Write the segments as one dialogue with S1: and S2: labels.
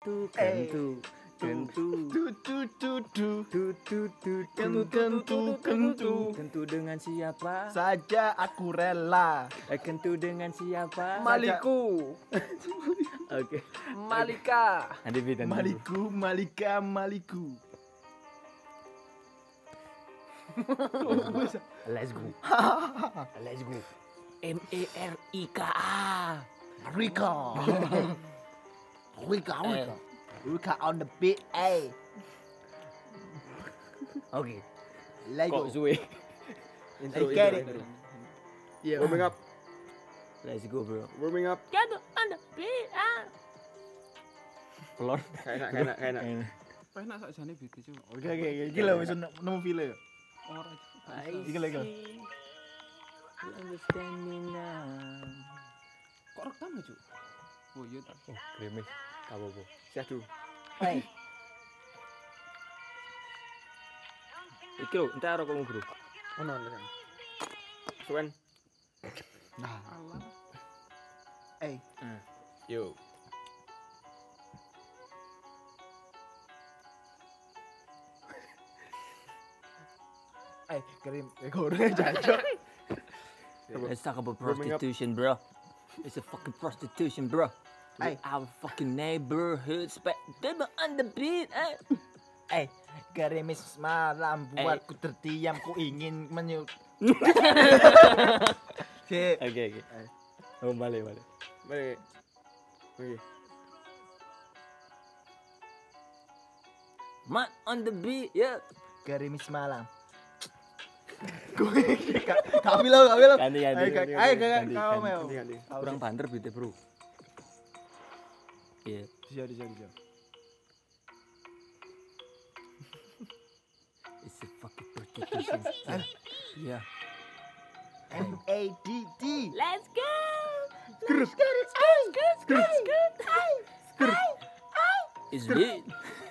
S1: Kentu dengan siapa
S2: saja aku rela.
S1: Kentu dengan siapa
S3: Maliku.
S1: Oke.
S3: Malika.
S2: Maliku.
S1: Let's go. Merika.
S2: Rika on the beat,
S1: Oke.
S2: Lego.
S1: Kok suwe?
S2: I get it.
S3: Yeah. Warming up.
S1: Let's go, bro.
S3: Warming up.
S1: Pelon.
S3: Kayak enak.
S4: Enak sakjane beat itu.
S2: Oke. Iki lho wis nemu file.
S4: Ora.
S2: Iki lho.
S1: You understand me now.
S4: Kok rekam ya, Cuk? Oh iya ta.
S1: Oh, kremes. Apa-apa.
S3: Syahdu.
S2: Hey,
S1: Iki lho, entar rokok bro.
S3: Ono. Suwen.
S4: Alah.
S2: hey.
S3: Yo.
S2: Kirim goreng jancuk.
S1: Let's talk about
S3: Warming up.
S1: prostitution, bro. It's a fucking prostitution, bro.
S2: Hey.
S1: Our fucking neighborhood spec. They on the beat,
S2: Gerimis malam buatku terdiam, ku ingin Sip.
S1: Oke. Oh, balik.
S3: Balik. Oke.
S1: Man on the beat, yeah.
S2: Gerimis malam. Kami lo.
S1: Ganti.
S2: Kau mau.
S3: Ganti.
S1: Kurang banter beatnya, bro. Iya.
S2: Bisa.
S1: It's a fucking prostitution. Yeah.
S2: MADD.
S1: Let's go. It's lit.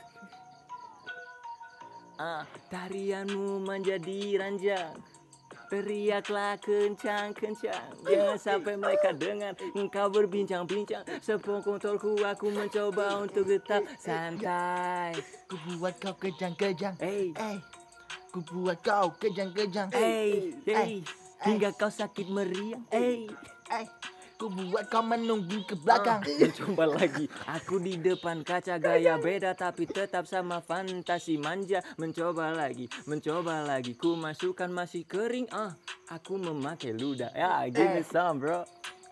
S1: Tarianmu menjadi ranjang. Teriaklah kencang-kencang. Jangan sampai mereka dengar engkau berbincang-bincang. Sepungkutolku aku mencoba untuk tetap santai.
S2: Ku buat kau kejang-kejang.
S1: Hey.
S2: Ku buat kau kejang-kejang.
S1: Hey. Hingga kau sakit meriang. Hey.
S2: Ku buat kau menunggu ke belakang.
S1: Mencoba lagi. Aku di depan kaca gaya beda tapi tetap sama fantasi manja. Mencoba lagi. Ku masukkan masih kering. Aku memakai ludah. Ya, give me some, bro.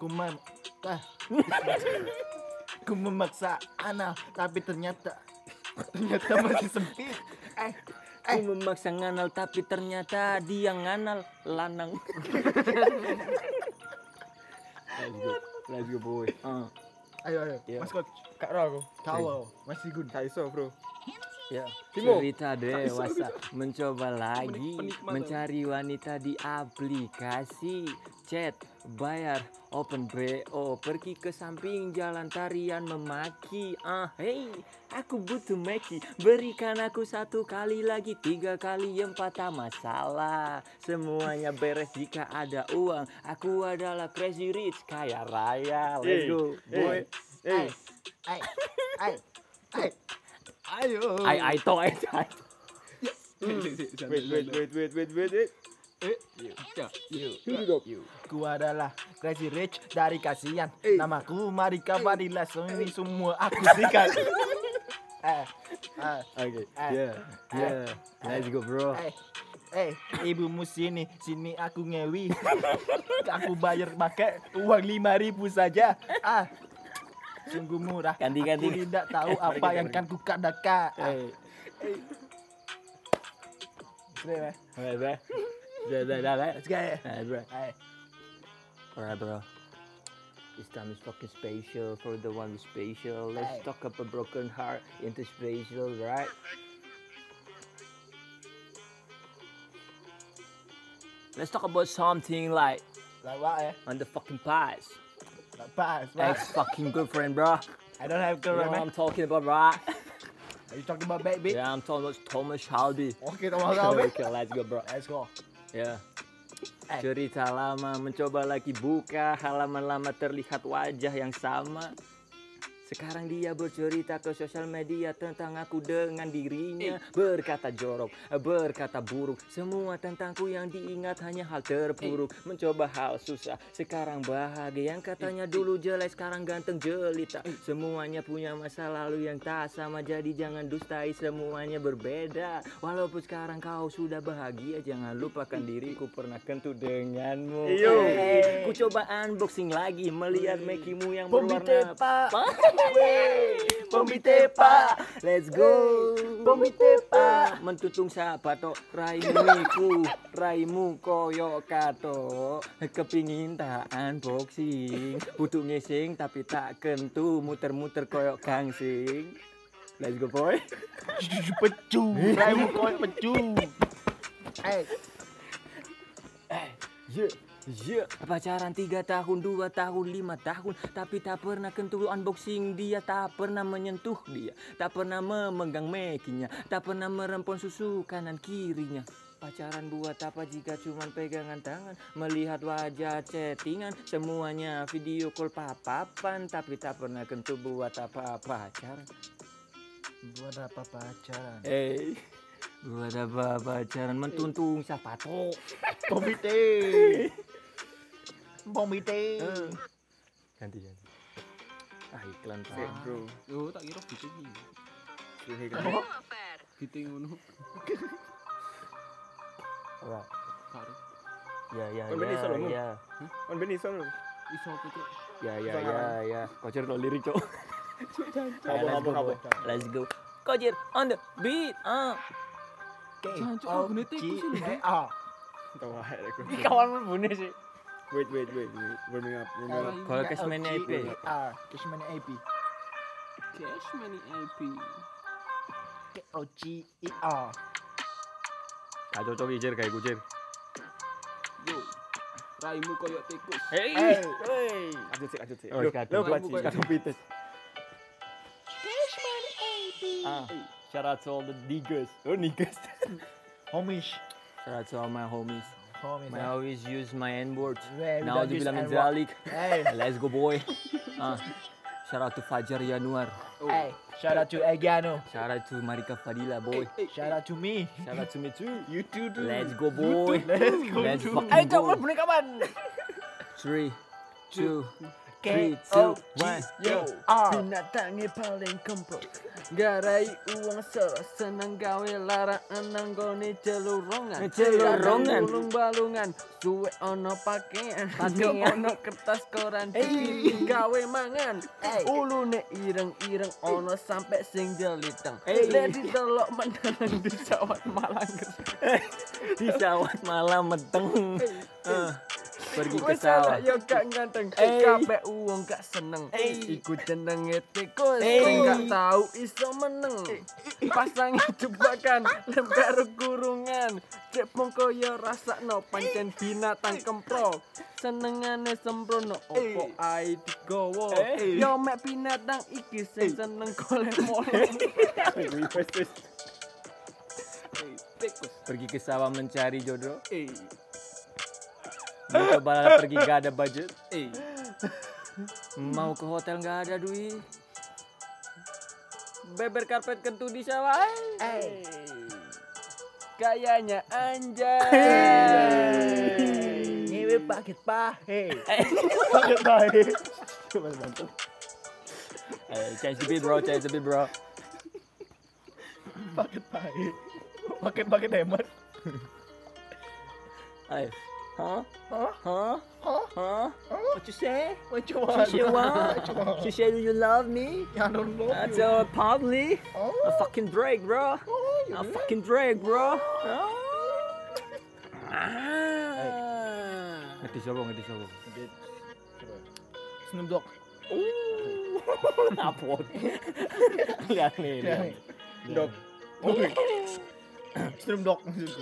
S2: Ku memaksa anal tapi ternyata masih sempit.
S1: Ku memaksa nganal tapi ternyata dia nganal lanang. Let's go boy.
S2: Ayo.
S1: Yeah.
S2: Maskot.
S3: Kak Ro aku.
S2: Kau masih good.
S3: Kak Iso, Bro.
S1: Ya,
S3: Timo.
S1: cerita dewasa mencoba lagi mencari wanita di aplikasi chat, bayar, open BO, pergi ke samping jalan tarian memaki. Hey, aku butuh Meki, berikan aku 1 kali lagi, 3 kali 4 tak masalah. Semuanya beres jika ada uang. Aku adalah crazy rich, kaya raya. Let's go, boy.
S3: Hey.
S2: Ayo.
S1: I toh.
S3: Wait.
S2: Ku adalah Crazy Rich dari kasihan. Namaku Marika Fadila. Ini semua aku sikat.
S1: Okay. Yeah. Let's go, bro.
S2: Ibumu sini aku ngewi. Aku bayar pakai uang 5.000 saja. Sungguh murah.
S1: Ganti.
S2: Aku tidak tahu apa yang kan ku katakan.
S1: Alright, bro.
S2: Let's go.
S1: Alright, bro. This time is fucking special for the one who's special. Let's talk about a broken heart into special, right? Let's talk about something like
S2: Like what?
S1: on the fucking past.
S2: Like pass.
S1: Ex fucking girlfriend, bro.
S2: I don't have
S1: You know
S2: girl,
S1: what
S2: man.
S1: I'm talking about, right?
S2: Are you talking about baby?
S1: Yeah, I'm talking about Thomas Shelby.
S2: Oke, Thomas Shelby.
S1: Okay, let's go, bro.
S2: Let's go.
S1: Ya. Cerita lama mencoba lagi buka halaman lama terlihat wajah yang sama. Sekarang dia bercerita ke sosial media tentang aku dengan dirinya. Berkata jorok, berkata buruk. Semua tentangku yang diingat hanya hal terpuruk. Mencoba hal susah, sekarang bahagia. Yang katanya dulu jelek, sekarang ganteng jelita. Semuanya punya masa lalu yang tak sama. Jadi jangan dustai, semuanya berbeda. Walaupun sekarang kau sudah bahagia, jangan lupakan diriku pernah kentut denganmu. Ku coba unboxing lagi, melihat mekimu yang berwarna Pombi tepa, let's go. Pombi tepa, mentutung sapa to raimu koyo kato. Kepingin tak unboxing, butuh ngising tapi tak kentu, muter-muter koyo gangsing. Let's go boy.
S2: Pecu, raimu koyo pecu.
S1: Pacaran 3 tahun, 2 tahun, 5 tahun, tapi tak pernah kentu unboxing dia, tak pernah menyentuh dia, tak pernah memegang mekinya, tak pernah merempon susu kanan kirinya. Pacaran buat apa jika cuman pegangan tangan, melihat wajah chattingan, semuanya video call papapan, tapi tak pernah kentu buat apa pacaran.
S2: Buat apa pacaran?
S1: Buat apa pacaran, mentuntung sapato.
S2: Pomite.
S1: Ganti. Iklan
S3: Sik,
S1: Pak.
S3: bro.
S4: Yo tak kira gitu iki.
S3: Sik,
S4: Gitu ngono.
S1: Ora.
S4: Karo.
S1: Ya.
S3: Kon ben iso lho, Mu.
S1: Ya.
S3: Kon ben iso lho.
S4: Iso apa cuk?
S1: Ya. Kocer lo lirik, Cok.
S3: Apa?
S1: Let's go. Kocer on the beat.
S4: Jancuk aku netiku sih lho.
S3: Tahu ae aku.
S1: Kawan berbunyi sih.
S3: Wait. Warming up.
S1: Kalau Cashmania IP.
S2: Cashmania IP.
S4: Cash money IP.
S2: KOCIR.
S1: Gak cocok Ijer kayak kucir.
S4: Yo. Raimu koyo tikus.
S1: Hey.
S3: Lanjut sih.
S1: Oh,
S3: Lo kacau pites.
S1: Shout out to all the niggas. Oh, niggas.
S2: Homish.
S1: Shout out to all my homies.
S2: Homies.
S1: I always use my N-word.
S2: We
S1: Now
S2: don't use
S1: dibilang
S2: N-word.
S1: Zalik.
S2: Hey.
S1: Let's go boy. Shout out to Fajar Yanuar.
S2: Hey. Shout out to Egiano.
S1: Shout out to Marika Fadila boy.
S2: Shout out to me.
S1: Shout out to me too.
S2: You too.
S1: Let's go boy. Let's fucking
S2: Ayo
S1: go.
S2: coba boneka kapan?
S1: 3, 2, 3, 2, 1.
S2: KOCIR.
S1: Binatangnya paling kempro. Garai uang senang gawe larangan nanggone celurongan.
S2: Ulung
S1: balungan suwe ono pakaian. Yo ono kertas koran dikirim gawe mangan. Ulune ireng-ireng ono sampai sing jeliteng. Ledi telok mendalang di sawat Malang. Di sawat malam meteng. Pergi ke sawah. Yo gak ganteng. Kabeh uang gak seneng. Iku jenenge tikus. Sing gak tahu iso meneng. Pasangi jebakan lem karo kurungan. Cek mongko yo rasakno pancen binatang kempro. Senengane sembrono opo ae digowo. Yo mek binatang iki sing seneng golek molek. Tikus pergi ke sawah mencari jodoh. Mau coba pergi gak ada budget. Mau ke hotel gak ada duit. Beber karpet kentu di sawah. Gayanya anjay.
S2: Ngewe paket pahe. Paket pahe. Coba bantu.
S1: Change the beat bro.
S2: Paket pahe. Paket hemat.
S1: Ayo. Huh? What you say?
S2: What you want?
S1: She said, do you love me?
S2: I don't know
S1: That's
S2: you.
S1: probably a fucking Drake, bro. A fucking Drake, bro. Ngerti siapa?
S2: Snoop Dogg.
S1: Apot. Lihat nih.
S3: Dog.
S2: Snoop Dogg maksudku.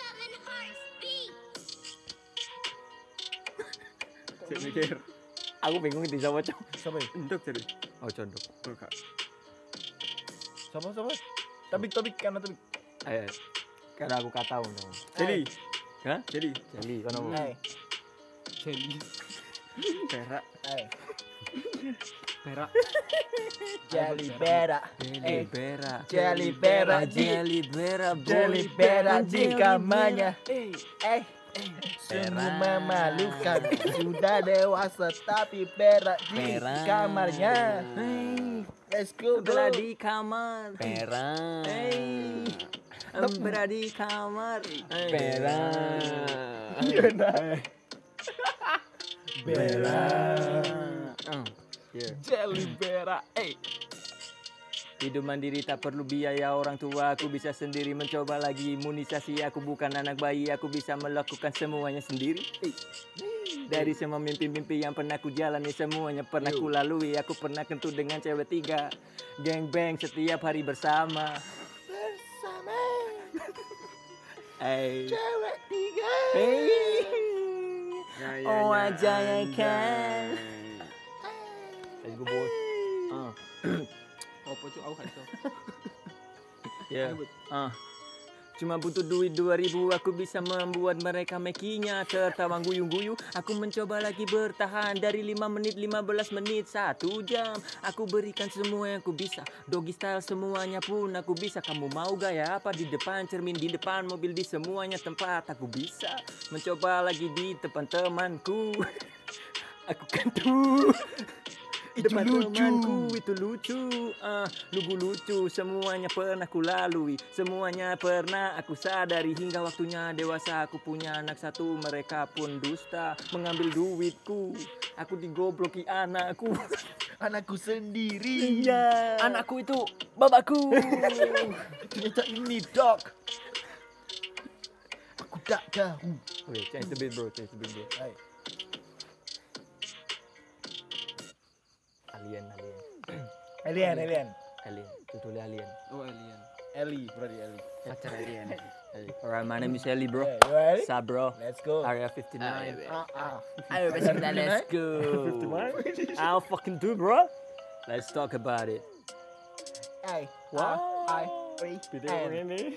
S3: Cek mikir.
S1: Aku bingung ngerti siapa, Cok.
S2: Siapa ya?
S3: Endok jadi.
S1: Oh, condok.
S3: Bukan.
S2: Siapa? Topik karena topik.
S1: Ayo. Karena aku kata dong.
S3: Jadi.
S1: Hah?
S3: Jadi.
S1: Jadi, kono mau.
S2: Hey.
S4: Jelly.
S3: Perak.
S2: Hey.
S4: Berak.
S2: Jelly berak.
S1: Jelly berak.
S2: Jelly berak.
S1: Jelly berak. boy.
S2: Jelly berak di
S1: Jelly
S2: kamarnya.
S1: berak.
S2: Sungguh memalukan. Sudah dewasa tapi berak di
S1: Berak.
S2: kamarnya. Let's go bro.
S1: Berak di kamar. Berak. Berak di kamar. Berak.
S2: Berak.
S4: Jelly berak.
S1: Hidup mandiri tak perlu biaya orang tua. Aku bisa sendiri mencoba lagi imunisasi. Aku bukan anak bayi. Aku bisa melakukan semuanya sendiri. Dari semua mimpi-mimpi yang pernah ku jalani, semuanya pernah ku lalui. Aku pernah kentut dengan cewek 3. Geng bang setiap hari bersama.
S2: Cewek 3.
S1: Oh aja ya kan. Let's go boy.
S4: Apa cuk aku gak iso.
S1: Ya. Cuma butuh duit 2000, aku bisa membuat mereka mekinya tertawa guyu-guyu. Aku mencoba lagi bertahan dari 5 menit, 15 menit, 1 jam. Aku berikan semua yang aku bisa. Doggy style semuanya pun aku bisa. Kamu mau gaya apa di depan cermin, di depan mobil, di semuanya tempat aku bisa. Mencoba lagi di depan temanku. Aku kan tuh.
S2: Itu
S1: Depan
S2: lucu.
S1: temanku itu lucu, lucu semuanya pernah ku lalui, semuanya pernah aku sadari hingga waktunya dewasa. Aku punya anak 1, mereka pun dusta, mengambil duitku, aku digobloki anakku.
S2: Anakku sendiri.
S1: Iya, anakku itu bapakku.
S2: Ternyata ini dog. Aku tak tahu.
S1: Oke, change the beat bro, change the beat bro.
S2: Hai. Alien.
S1: Tutulah alien.
S4: Oh alien.
S2: Ellie, berarti Ellie.
S4: Pacar alien.
S1: Alright, my name is Ellie bro.
S2: Hey, you ready?
S1: Sup bro?
S2: Let's go.
S1: Area 59.
S2: Ayo,
S1: besok kita let's go. I'll fucking do bro. Let's talk about it.
S2: Hey,
S1: What?
S3: Video ini.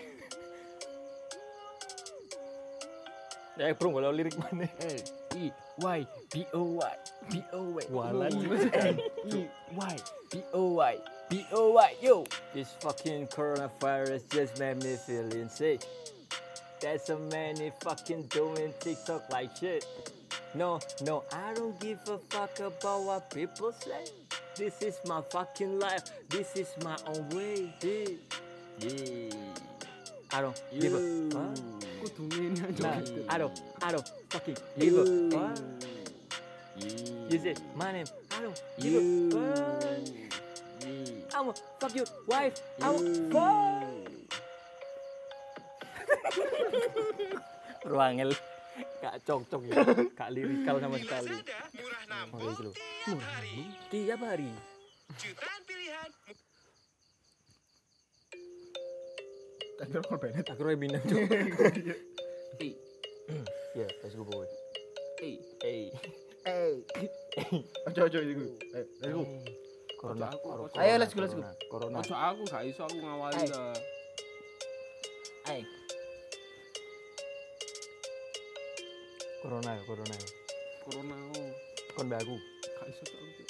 S1: Ya bro, kalau lirik mana?
S2: L-E-Y-B-O-Y B-O-Y
S1: Walan.
S2: L-E-Y-B-O-Y B-O-Y Yo.
S1: This fucking coronavirus just made me feel insane. There's so many fucking doing TikTok like shit. No, I don't give a fuck about what people say. This is my fucking life. This is my own way. Yeah. I don't give a fuck.
S4: Kudu ngene aja.
S1: Nah, I don't fucking give a fuck. You say my name. I don't give a fuck. I'ma fuck your wife. I'ma fuck. Ruangel. Gak cocok ya. Gak lirikal sama sekali.
S5: Murah namun
S1: Oh, itu loh.
S5: tiap hari
S1: Tiap hari.
S5: jutaan pilihan.
S2: Tapi orang Bennett.
S1: Aku Roy Binang tuh.
S4: Eh,
S1: Ya, let's go boy.
S4: eh.
S1: Hey.
S2: Ojo itu. Let's go.
S1: Corona.
S2: Ayo, let's go.
S1: Corona.
S4: Ojo aku gak iso aku ngawali lah.
S2: Hey.
S1: Corona.
S4: Corona aku.
S1: Kon mbak aku.
S4: Gak iso cuk aku.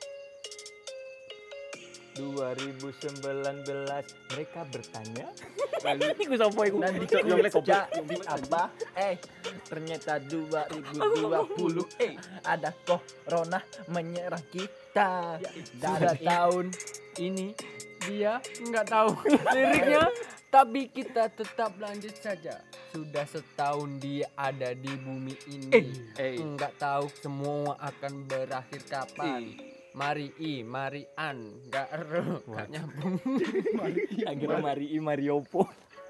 S1: 2019 mereka bertanya. Ini gue sampai gue.
S2: Nanti jadi apa? Ternyata 2020 ada corona menyerang kita.
S6: Sudah tahun ini dia nggak tahu liriknya, tapi kita tetap lanjut saja. Sudah setahun dia ada di bumi ini. Nggak tahu semua akan berakhir kapan. Marian, nggak nyambung.
S1: Akhirnya Mariopo.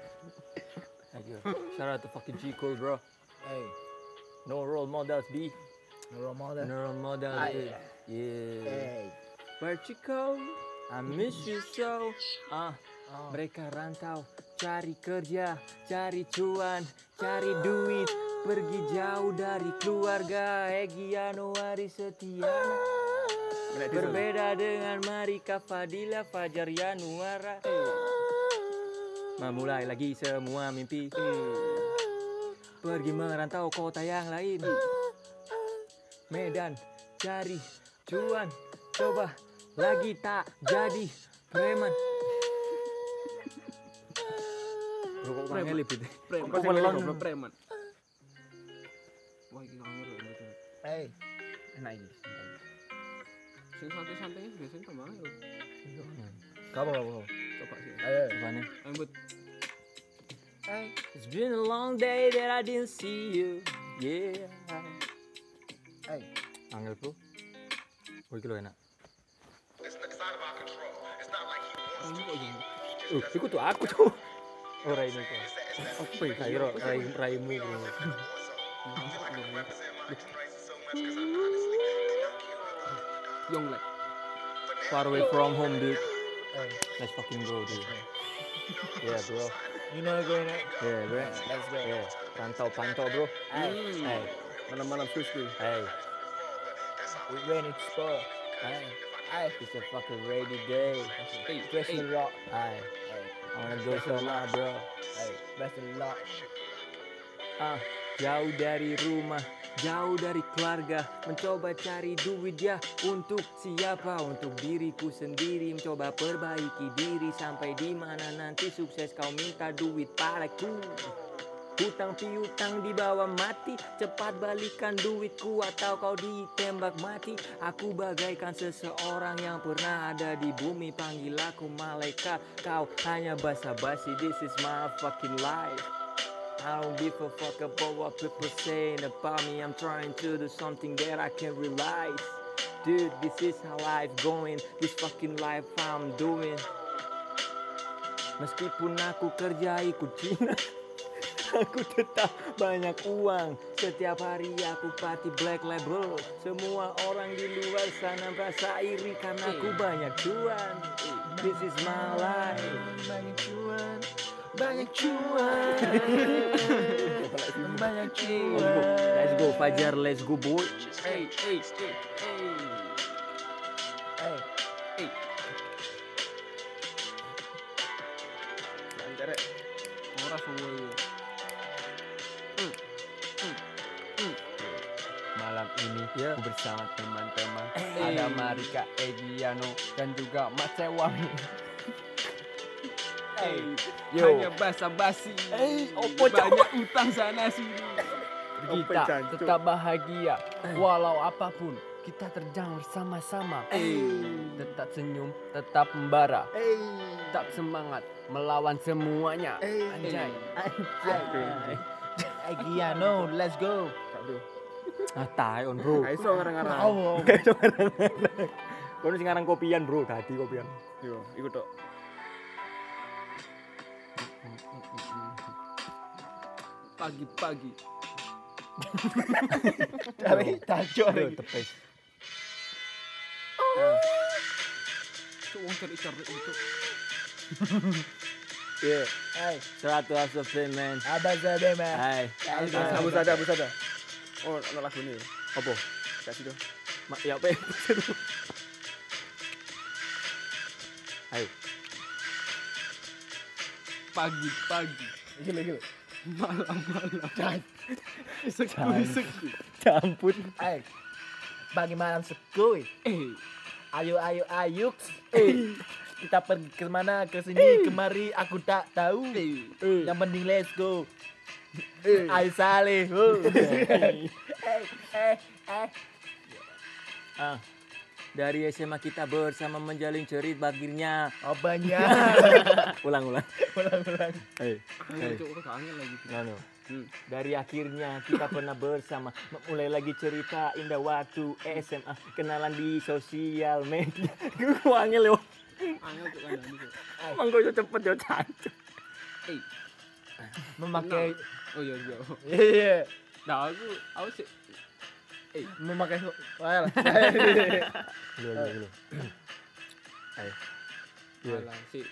S1: Shout out to fucking G Cole bro.
S2: Hey,
S1: No role models B.
S2: role model.
S1: No role models.
S2: Ay.
S1: Yeah.
S2: Hey.
S1: Where'd you go? I miss you so. Mereka rantau, cari kerja, cari cuan, cari duit, pergi jauh dari keluarga. Egy Januari Setiana. Berbeda dengan Marika Fadila Fajar Yanuara. Memulai lagi semua mimpi. Pergi merantau kota yang lain. Medan cari cuan, coba lagi tak jadi preman. Bro kok kangen lebih deh.
S4: Preman.
S1: Kok melon.
S4: Preman. Wah, iki kangen lho betul.
S1: Enak iki.
S4: Sing santai-santainya biasanya tambah lho.
S2: Kamu.
S4: Coba sih.
S2: Ayo.
S1: Gimana?
S4: Ambut.
S1: It's been a long day that I didn't see you. Yeah. Angel bro. Oh iki lho enak.
S4: Ini kok jadi.
S1: Iku tuh aku tuh. Ora ini kok. Apa ya kairo raimu bro.
S4: Young like.
S1: Far away from home dude. Let's fucking go dude. Yeah bro.
S2: You know going on.
S1: Yeah bro.
S2: Let's go.
S1: Yeah. Pantau bro. Hey.
S4: Malam-malam Tuesday.
S1: Hey.
S2: We ready to score.
S1: Hey.
S2: Hey.
S1: It's a fucking rainy day.
S2: Freshman rock.
S1: Hey. I wanna go somewhere bro.
S2: Hey. Best of luck.
S1: Jauh dari rumah, jauh dari keluarga, mencoba cari duit ya untuk siapa? Untuk diriku sendiri, mencoba perbaiki diri sampai di mana nanti sukses kau minta duit padaku. Hutang piutang dibawa mati, cepat balikan duitku atau kau ditembak mati. Aku bagaikan seseorang yang pernah ada di bumi, panggil aku malaikat, kau hanya basa-basi. This is my fucking life. I don't give a fuck about what people saying about me. I'm trying to do something that I can realize. Dude, this is how life going. This fucking life I'm doing. Meskipun aku kerja ikut Cina, aku tetap banyak uang. Setiap hari aku party black label. Semua orang di luar sana merasa iri karena aku banyak cuan. This is my life.
S2: Banyak cuan. Banyak cuan. Banyak cuan.
S1: Let's go Fajar, let's go boy.
S4: Hey. Lancar. Ora semua itu.
S6: Malam ini aku bersama teman-teman ada Marika, Egiano dan juga Mas Sewang.
S4: Hanya basa-basi. Banyak utang sana sini.
S6: Kita tetap bahagia walau apapun kita terjang bersama-sama. Tetap senyum, tetap membara, tetap semangat melawan semuanya. Anjay.
S2: Giano, let's go.
S1: Tai on bro.
S4: Iso ngarang-ngarang.
S1: Kono sing ngarang kopian bro, tadi kopian.
S4: Yo, iku tok. Pagi-pagi.
S2: Dari tajo lagi.
S1: Tepes.
S4: Wong cari-cari itu.
S1: Yeah. Hey, 100% man.
S2: Abang Bema.
S1: Hai.
S4: Abu sada. Oh, ana lagu ini.
S1: Apa?
S4: Kasih dong.
S1: Ya apa? Ayo.
S4: Pagi-pagi.
S2: Gila.
S4: Malam-malam. Isek.
S1: Campur.
S2: Pagi malam sekui. Ayo. Kita pergi ke mana? Ke sini, kemari. Aku tak tahu. Yang penting let's go. Ayo saleh.
S1: Dari SMA kita bersama menjalin cerit bagirnya.
S2: Apanya?
S1: Ulang. Hey.
S4: Cuk, kangen lagi.
S1: No. Dari akhirnya kita pernah bersama mulai lagi cerita indah waktu SMA, kenalan di sosial media. Gue angel yo.
S4: Angel cuk kandang itu.
S1: Mangko yo cepet yo cancuk.
S2: Memakai.
S4: Oh iya.
S2: Iya.
S4: Nah, aku sih
S2: Memakai. Well.
S1: Lu. Ayo.
S4: malah sih.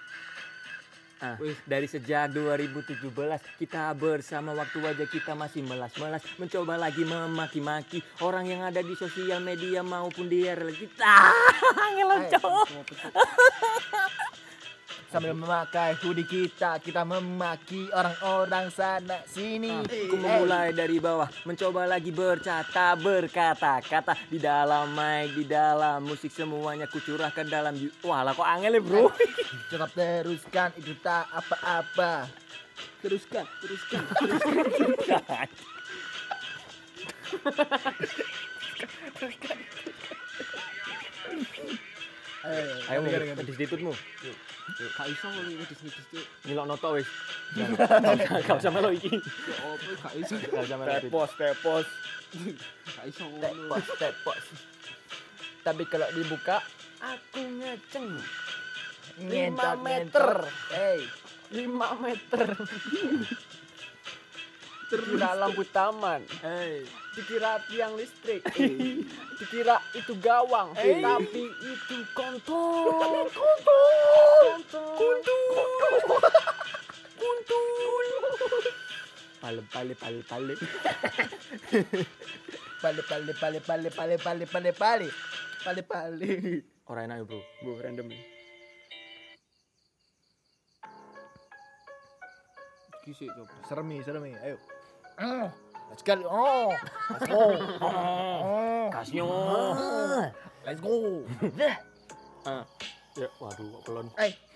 S1: Dari sejak 2017 kita bersama, waktu wajah kita masih melas-melas, mencoba lagi memaki-maki orang yang ada di sosial media maupun di RL kita. Ngelucu.
S2: Sambil memakai hoodie kita memaki orang-orang sana sini.
S1: Aku memulai dari bawah, mencoba lagi berkata-kata di dalam mic, di dalam musik semuanya kucurahkan dalam wah lah kok angel ya bro.
S2: Tetap teruskan, itu tak apa-apa.
S4: Teruskan.
S1: Ayo ngedis-ditutmu.
S4: Gak iso ngedis tuh.
S1: Nyilok noto wis. Gak usah melo iki.
S4: Ya opo gak iso.
S1: Gak usah melo.
S3: Tepos.
S4: Gak iso ngono.
S2: Tepos.
S6: Tapi kalau dibuka, aku ngeceng. 5
S2: Ngentot,
S6: meter.
S2: Hey.
S6: 5 meter. Dikira lampu taman. Dikira tiang listrik. Dikira itu gawang. Tapi itu kontol.
S2: Pale.
S1: Ora enak ya bro.
S3: Bu random nih.
S4: Kisik coba.
S2: Seremi. Ayo. Let's go. Let's go.
S1: Kasnyo.
S2: Let's go.
S1: Ya waduh kok pelon.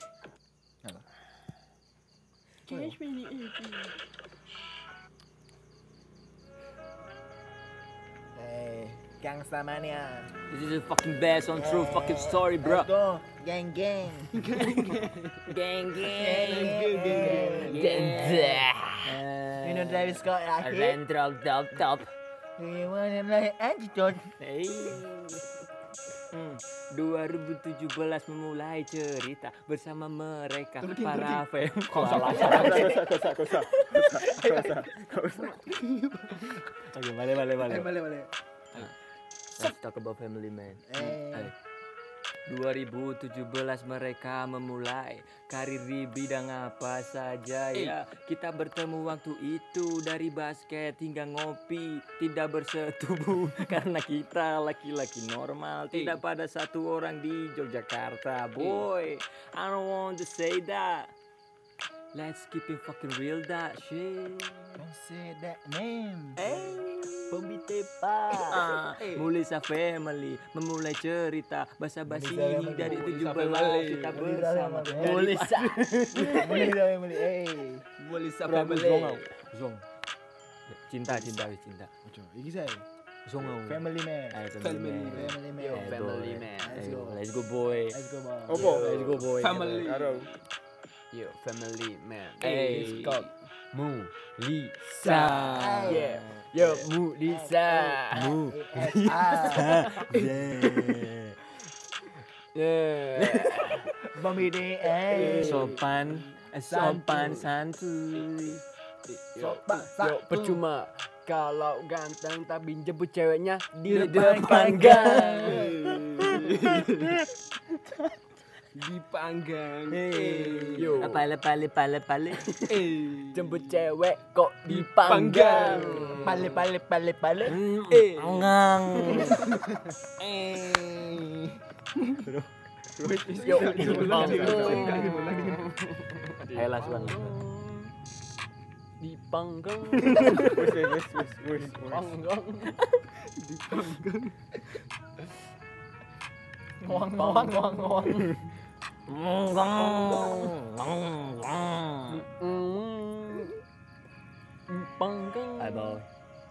S2: Gangsta mania.
S1: This is a fucking based on true fucking story bro.
S2: Let's go. Gang.
S1: Gang.
S2: You know Travis Scott ya?
S1: Rendrol top.
S2: You wanna like attitude?
S1: 2017 memulai cerita bersama mereka para fans.
S3: Kau usah.
S1: Oke, balik.
S2: Balik.
S1: Let's talk about family man. 2017 mereka memulai karir di bidang apa saja ya. Kita bertemu waktu itu dari basket hingga ngopi, tidak bersetubuh karena kita laki-laki normal, tidak pada satu orang di Yogyakarta. Boy, I don't want to say that. Let's keep it fucking real that shit.
S2: Don't say that name.
S1: Pembitepa Mulisa Family memulai cerita basa-basi ini dari 17 kita bersama
S2: Mulisa Family.
S4: Mulisa
S1: Zong cinta
S2: Iki saya.
S1: Zong
S2: Family man.
S1: Family man. Let's go boy.
S3: Opo?
S1: Let's go boy.
S4: Family.
S3: Karo.
S6: Yo, family man.
S1: Scott
S6: Mulisa.
S2: Yeah.
S6: Yo, Mulisa.
S2: Pembidi.
S1: Sopan santuy.
S6: Yo, percuma kalau ganteng tapi jemput ceweknya di
S1: depan
S6: depan
S1: gang.
S4: Dipanggang.
S6: Yo,
S1: Pale.
S6: jemput cewek kok dipanggang.
S2: Pale.
S1: Angang.
S6: Yo,
S1: Ayo last one.
S6: dipanggang.
S3: Wis.
S6: Panggang.
S2: Ngawang.
S6: Dipanggang.
S1: Bye boy.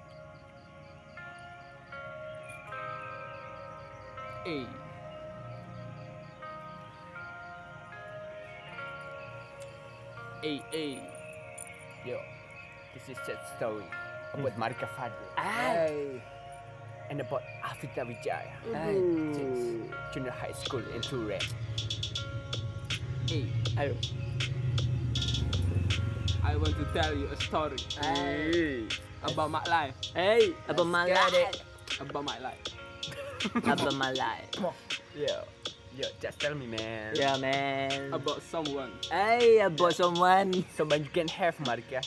S6: Yo, this is sad story about Marika Fadil and about Afita Wijaya. Junior high school in Ture.
S4: I want to tell you a story about my life.
S1: Abang Malay.
S4: About my life.
S1: Abang Malay.
S6: Yo, just tell me, man.
S1: Yeah, man.
S4: About someone.
S1: About someone.
S6: Someone you can have, Marika.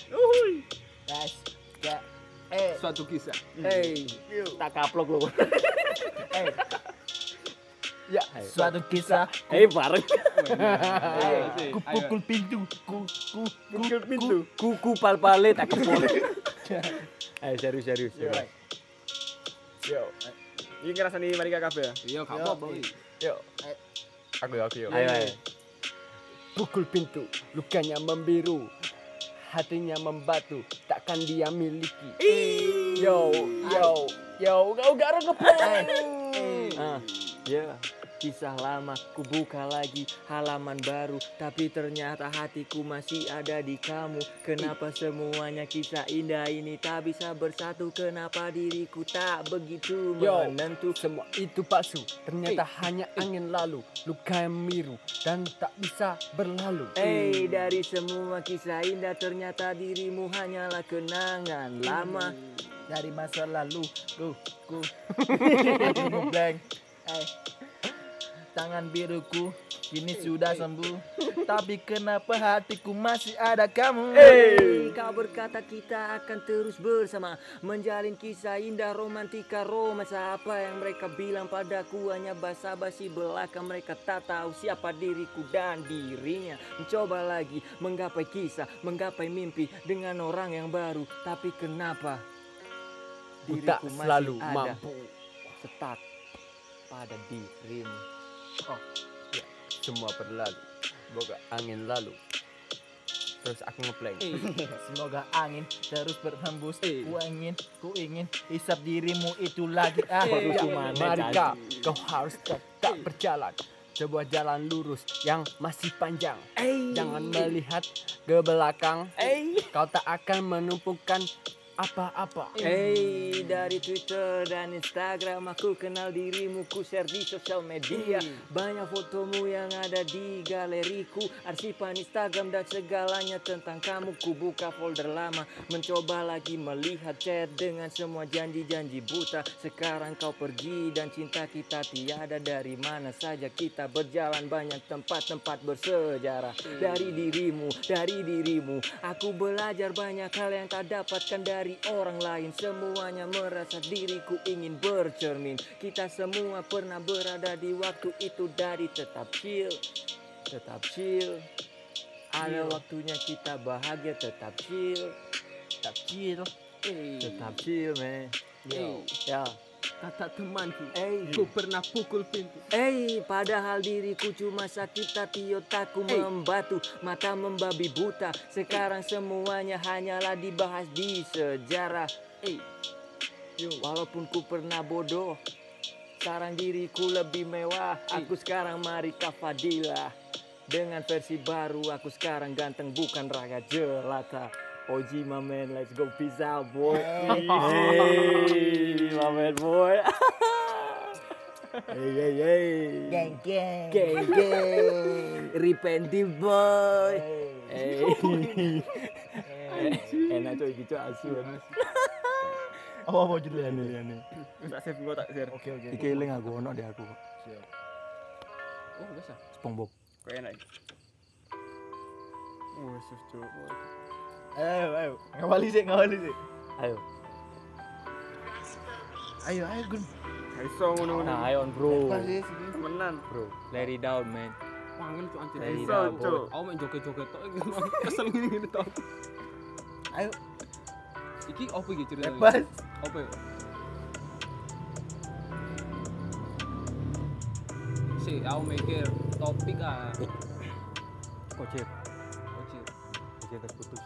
S4: Suatu kisah.
S1: Tak kaplok lu.
S2: Ya, suatu kisah.
S1: Bareng.
S2: Ku pukul pintu.
S3: Pukul pintu.
S1: Kuku pal-pale tak kepol. Ayo serius.
S3: Yo. Ini ngerasani mari kabeh ya.
S4: Iya, gak apa-apa.
S3: Yo. Aku yo.
S1: Ayo.
S6: Pukul pintu, lukanya membiru, hatinya membatu, takkan dia miliki. Yo, kau gak ngeplay.
S1: Ya, kisah lama ku buka lagi halaman baru, tapi ternyata hatiku masih ada di kamu. Kenapa semuanya kisah indah ini tak bisa bersatu? Kenapa diriku tak begitu menentu?
S6: Semua itu palsu, ternyata hanya angin lalu, luka yang biru dan tak bisa berlalu.
S1: Dari semua kisah indah ternyata dirimu hanyalah kenangan lama.
S2: Dari masa lalu. Ku blank. Tangan biruku kini sudah sembuh, tapi kenapa hatiku masih ada kamu?
S1: Kau berkata kita akan terus bersama, menjalin kisah indah romantika romansa. Apa yang mereka bilang padaku hanya basa-basi belaka. Mereka tak tahu siapa diriku dan dirinya. Mencoba lagi menggapai kisah, menggapai mimpi dengan orang yang baru. Tapi kenapa
S6: Ku tak
S1: diriku
S6: selalu
S1: masih ada
S6: mampu.
S1: stuck pada dirimu.
S6: Semua berlalu, boga angin lalu. Terus aku ngeplay.
S2: Semoga angin terus berhembus. Ku ingin hisap dirimu itu lagi.
S6: Marika, kau harus tetap berjalan. Sebuah jalan lurus yang masih panjang. Jangan melihat ke belakang. Kau tak akan menumpukan apa-apa.
S1: Dari Twitter dan Instagram aku kenal dirimu, ku share di sosial media. Banyak fotomu yang ada di galeriku, arsipan Instagram dan segalanya tentang kamu. Ku buka folder lama, mencoba lagi melihat chat dengan semua janji-janji buta. Sekarang kau pergi dan cinta kita tiada. Dari mana saja kita berjalan, banyak tempat-tempat bersejarah. Dari dirimu aku belajar banyak hal yang tak dapatkan dari orang lain. Semuanya merasa diriku ingin bercermin. Kita semua pernah berada di waktu itu. Dari tetap chill. Ada waktunya kita bahagia. Tetap chill man. Ya.
S4: Kata temanku, ku pernah pukul pintu.
S1: Padahal diriku cuma sakit hati, otakku membatu, mata membabi buta. Sekarang semuanya hanyalah dibahas di sejarah. Walaupun ku pernah bodoh, sekarang diriku lebih mewah. Aku sekarang Marika Fadila. Dengan versi baru, aku sekarang ganteng bukan raga jelata. OG my man, let's go, peace out boy. Hey my man boy. Hey.
S2: Geng.
S1: Repentive boy. Enak tuh gitu asu.
S2: Apa judulnya nih?
S3: Tak save gua tak share.
S2: Oke.
S1: Iki eling aku ono di aku.
S4: Oh, bisa.
S1: SpongeBob.
S3: Kok enak. Sus cuk.
S2: Ayo. Ngawali sih.
S1: Ayo.
S2: Ayo Gun.
S3: Iso ngono-ngono.
S1: Nah, ayo bro.
S3: Temenan.
S1: Bro, let it down man.
S4: Wangil tuh anjir.
S1: Dari
S3: Iso
S1: dapur.
S3: cuk.
S4: Aku main joget-joget tok iki. Kesel gini tok.
S2: Ayo.
S4: Iki apa iki ceritanya?
S2: Bebas.
S4: Apa ya? Aku mikir topik
S1: Kocek.
S4: Ojir.
S1: Kocek terputus.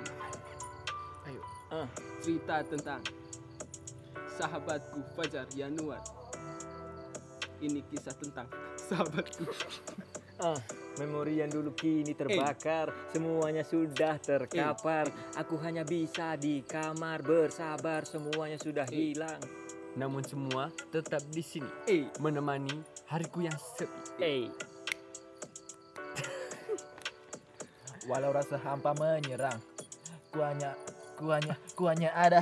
S4: Cerita tentang sahabatku Fajar Yanuar. Ini kisah tentang sahabatku.
S1: Memori yang dulu kini terbakar, semuanya sudah terkapar. Aku hanya bisa di kamar bersabar, semuanya sudah hilang.
S6: Namun semua tetap di sini, menemani hariku yang sepi.
S2: Walau rasa hampa menyerang, ku hanya ada.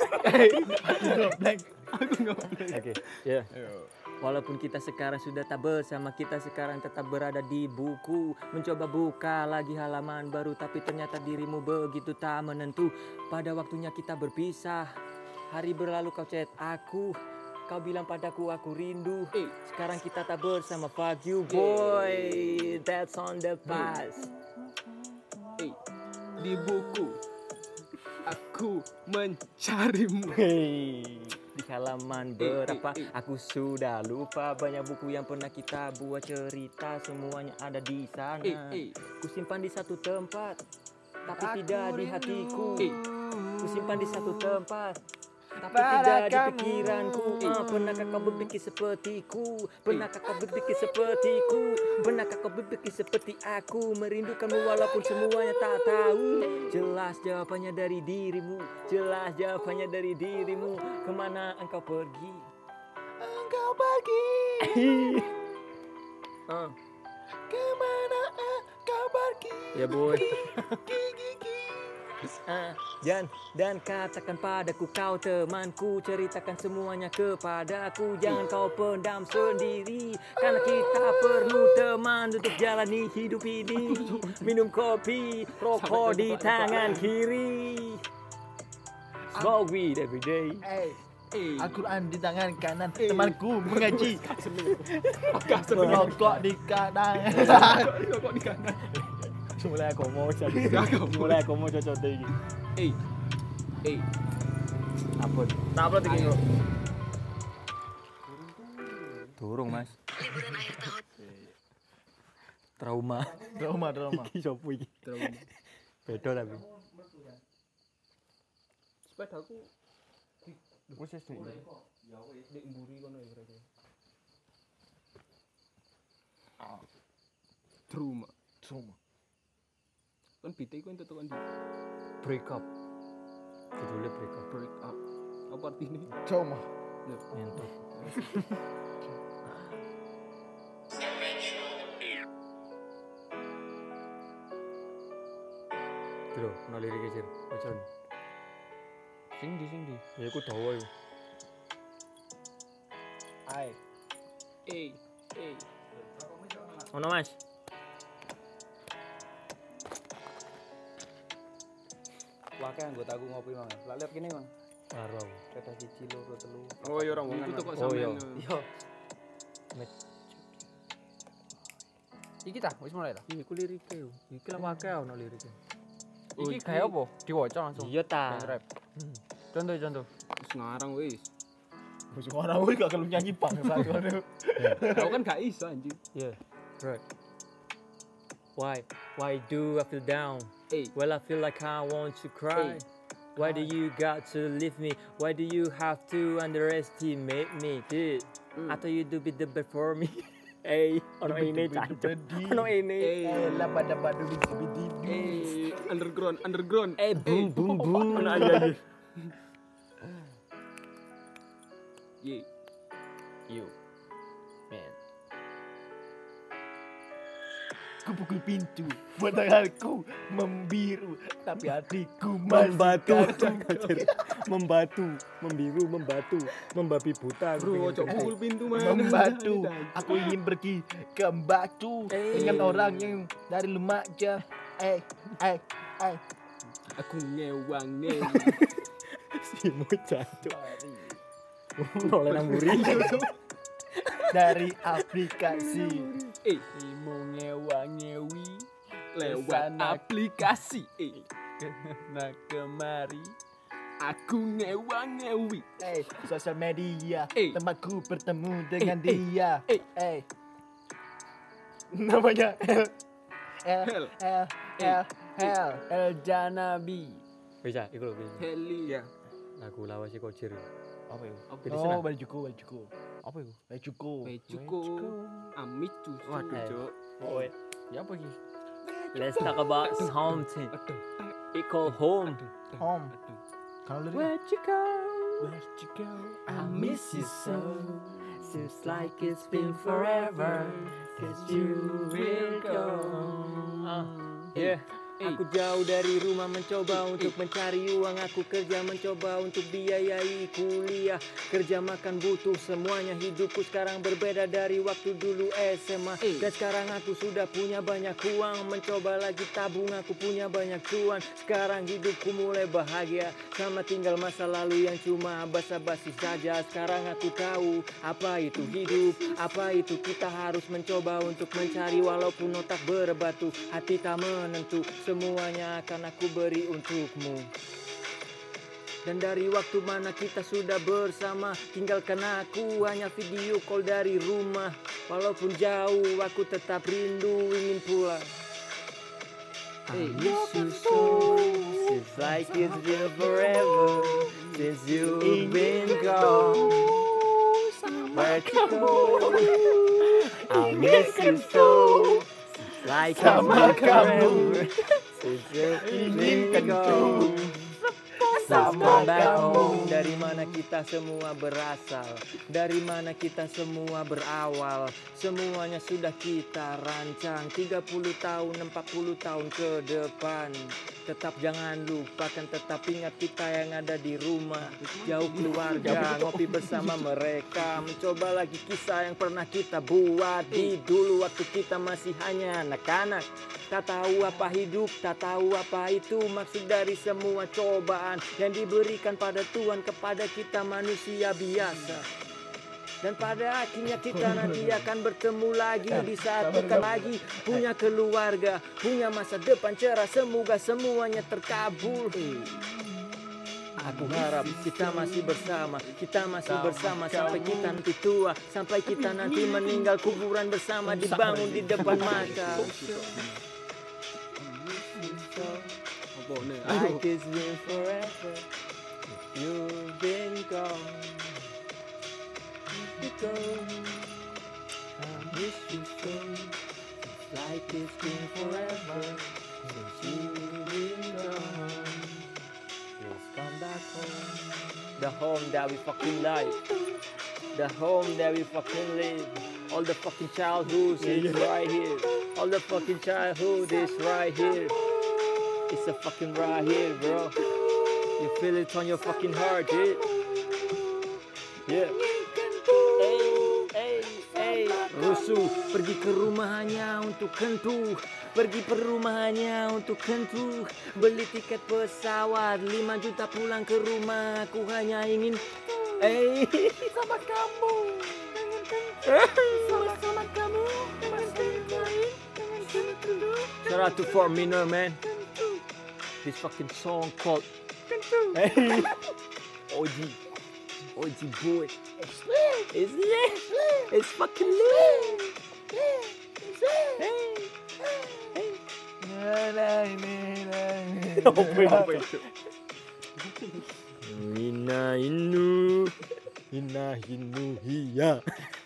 S1: Oke, ya. Walaupun kita sekarang sudah tak bersama, kita sekarang tetap berada di buku. Mencoba buka lagi halaman baru, tapi ternyata dirimu begitu tak menentu. Pada waktunya kita berpisah. Hari berlalu kau chat aku, Kau bilang padaku aku rindu. Sekarang kita tak bersama. Fuck you boy. That's on the past.
S4: Di buku aku mencarimu.
S1: Di halaman berapa aku sudah lupa. Banyak buku yang pernah kita buat cerita. Semuanya ada di sana. Ku simpan di satu tempat, tapi tidak di hatiku. Ku simpan di satu tempat, tapi tidak di pikiranku. Pernahkah kau berpikir sepertiku? Pernahkah kau berpikir sepertiku? Pernahkah kau berpikir seperti aku? Merindukanmu walaupun semuanya tak tahu. Jelas jawabannya dari dirimu. Jelas jawabannya dari dirimu. Kemana engkau pergi?
S2: Engkau pergi. Kemana engkau pergi?
S1: Ya boy. Dan katakan padaku kau temanku. Ceritakan semuanya kepadaku. Jangan kau pendam sendiri. Karena kita perlu teman untuk jalani hidup ini. Minum kopi, rokok di tangan kiri. Smoke weed every day.
S2: Al-Quran di tangan kanan, temanku mengaji. Rokok di kanan.
S4: Kok di kanan?
S1: Mulai aku mau cocok lagi. Ampun.
S3: Tak upload iki kok.
S1: Turung mas. Trauma. Iki sopo iki?
S4: Trauma.
S1: Beda tapi.
S4: Sepedaku
S1: Wes wis nek.
S4: dek mburi kono ya kira-kira. Trauma. Kan bite iku entuk tekan di
S1: Break up. Judulnya break up.
S4: break up. Apa artinya?
S2: Cuma.
S1: Nyentuh. Bro, ono lirike sir. Macam. Sing di. Ya aku dawa iku. Ono Mas.
S6: Wakai anggotaku ngopi mang. Lah lihat kene mang.
S1: Karo.
S6: Kata siji loro telu.
S3: Oh ya rombongan.
S4: Itu kok
S1: Oh, iya.
S4: sampean.
S1: Yo.
S6: Iki ta, wis mulai ta.
S1: Iki ku lirike yo. Iki lah wae ono lirike.
S6: Iki kayak apa? Diwaca langsung.
S1: Iya ta.
S6: Band rap. Contoh.
S4: Wis ngarang wis.
S2: Wis ora wis gak kelem nyanyi bangsa ngono.
S4: Aku kan gak iso anjing.
S1: Yeah. Right. Why do I feel down?
S4: Eh.
S1: Well, I feel like I want to cry. Why do you got to leave me? Why do you have to underestimate me, dude? I thought you do be the best for me. Hey, ono ini cancuk. Ono ini.
S2: Labada-badu di sibidi.
S4: Underground.
S1: Boom boom boom. Ono aja.
S4: Ye.
S1: You. Man.
S2: Ku pukul pintu, buat tanganku membiru, tapi hatiku
S1: Membatu.
S2: membatu,
S1: Membabi buta.
S4: Bro, ojo pukul pintu mana.
S2: membatu. Aku ingin pergi ke Batu dengan orang yang dari Lumajang.
S4: Aku ngewang.
S1: Si mucancuk. Oleh nang mburi.
S2: Dari aplikasi.
S6: Imo ngewi
S4: Lewat
S6: Kesana.
S4: aplikasi.
S6: Nah kemari
S4: Aku ngewi.
S2: Sosial media,
S4: Eh.
S2: tempatku bertemu dengan dia.
S4: Eh.
S2: Namanya
S4: Hell.
S2: El
S6: Janabi.
S1: Bisa, iku lho bisa.
S4: Heli.
S3: Ya.
S1: Lagu lawas si Kocir.
S2: apa itu?
S1: Pilih
S2: Oh,
S1: senang.
S2: Bajuku.
S1: Apa iku?
S2: Bajuku.
S4: Bejuko. Amicu.
S3: Waduh, Cuk.
S1: Oh,
S6: Ya apa iki?
S1: let's talk about something. It called home.
S2: Home. Kalau lirik
S1: Where'd you go?
S2: Where'd you go?
S1: I miss you so. Seems like it's been forever. 'Cause you will go. Yeah. Aku jauh dari rumah mencoba untuk mencari uang. Aku kerja mencoba untuk biayai kuliah. Kerja makan butuh semuanya. Hidupku sekarang berbeda dari waktu dulu SMA. Dan sekarang aku sudah punya banyak uang. Mencoba lagi tabung, aku punya banyak cuan. Sekarang hidupku mulai bahagia. Sama tinggal masa lalu yang cuma basa-basi saja. Sekarang aku tahu apa itu hidup, apa itu kita harus mencoba untuk mencari. Walaupun otak berbatu, hati tak menentu. Semuanya akan aku beri untukmu. Dan dari waktu mana kita sudah bersama, tinggalkan aku hanya video call dari rumah. Walaupun jauh aku tetap rindu ingin pulang. I miss you so, seems like it's been forever since you've been gone. Where to go? I miss you so, seems like it's been forever since you've been gone. Sama back home. Dari mana kita semua berasal, dari mana kita semua berawal. Semuanya sudah kita rancang 30 tahun, 40 tahun ke depan. Tetap jangan lupakan, tetap ingat kita yang ada di rumah. Jauh keluarga, ngopi bersama mereka. Mencoba lagi kisah yang pernah kita buat di dulu waktu kita masih hanya anak-anak. Tak tahu apa hidup, tak tahu apa itu maksud dari semua cobaan yang diberikan pada Tuhan kepada kita manusia biasa. Dan pada akhirnya kita nanti akan bertemu lagi di saat kita lagi punya keluarga, punya masa depan cerah. Semoga semuanya terkabul. Aku harap kita masih bersama, kita masih bersama sampai kita nanti tua, sampai kita nanti meninggal, kuburan bersama dibangun di depan mata. Like it's been forever, you've been gone. You go, I miss you so. Like it's been forever since you've been gone. Please come back home, the home that we fucking like, the home that we fucking live. All the fucking childhood is right here. All the fucking childhood is right here. It's a fucking right here, bro. You feel it on your fucking heart, dude. Yeah. Hey, rusuh. Pergi ke rumahnya untuk kentuh. Pergi ke rumahnya untuk kentuh. Beli tiket pesawat 5 juta pulang ke rumah. Aku hanya ingin sama kamu. Sama kamu. Shout out to Fort Minor, man. This fucking song called OG boy. It's lit. It's fucking lit. Apa itu? Ina inu hiya.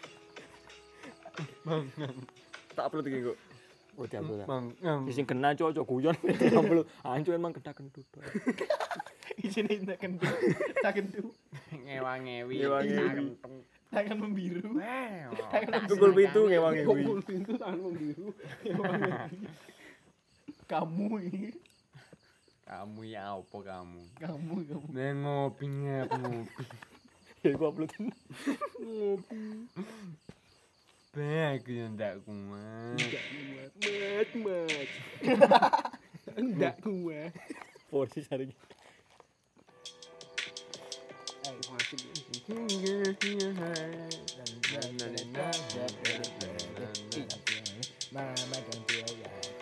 S1: Tak upload iki kok. Udah upload. Sing kena cocok guyon. Upload. Ancu emang kena-kentut.
S2: Isine tak kentu. Tak kentu.
S6: Ngewa-ngewi.
S2: Tangan membiru.
S1: Tukul pintu ngewangi.
S4: Pukul pintu tangan membiru.
S2: Kamu ini.
S6: Kamu ya apa kamu?
S2: Kamu.
S6: Ngopi.
S1: Ya gua upload.
S6: Baik yang ndak kuat.
S4: Mat. Enggak kuat.
S1: Porsi hari ini.
S2: Mama don't do it.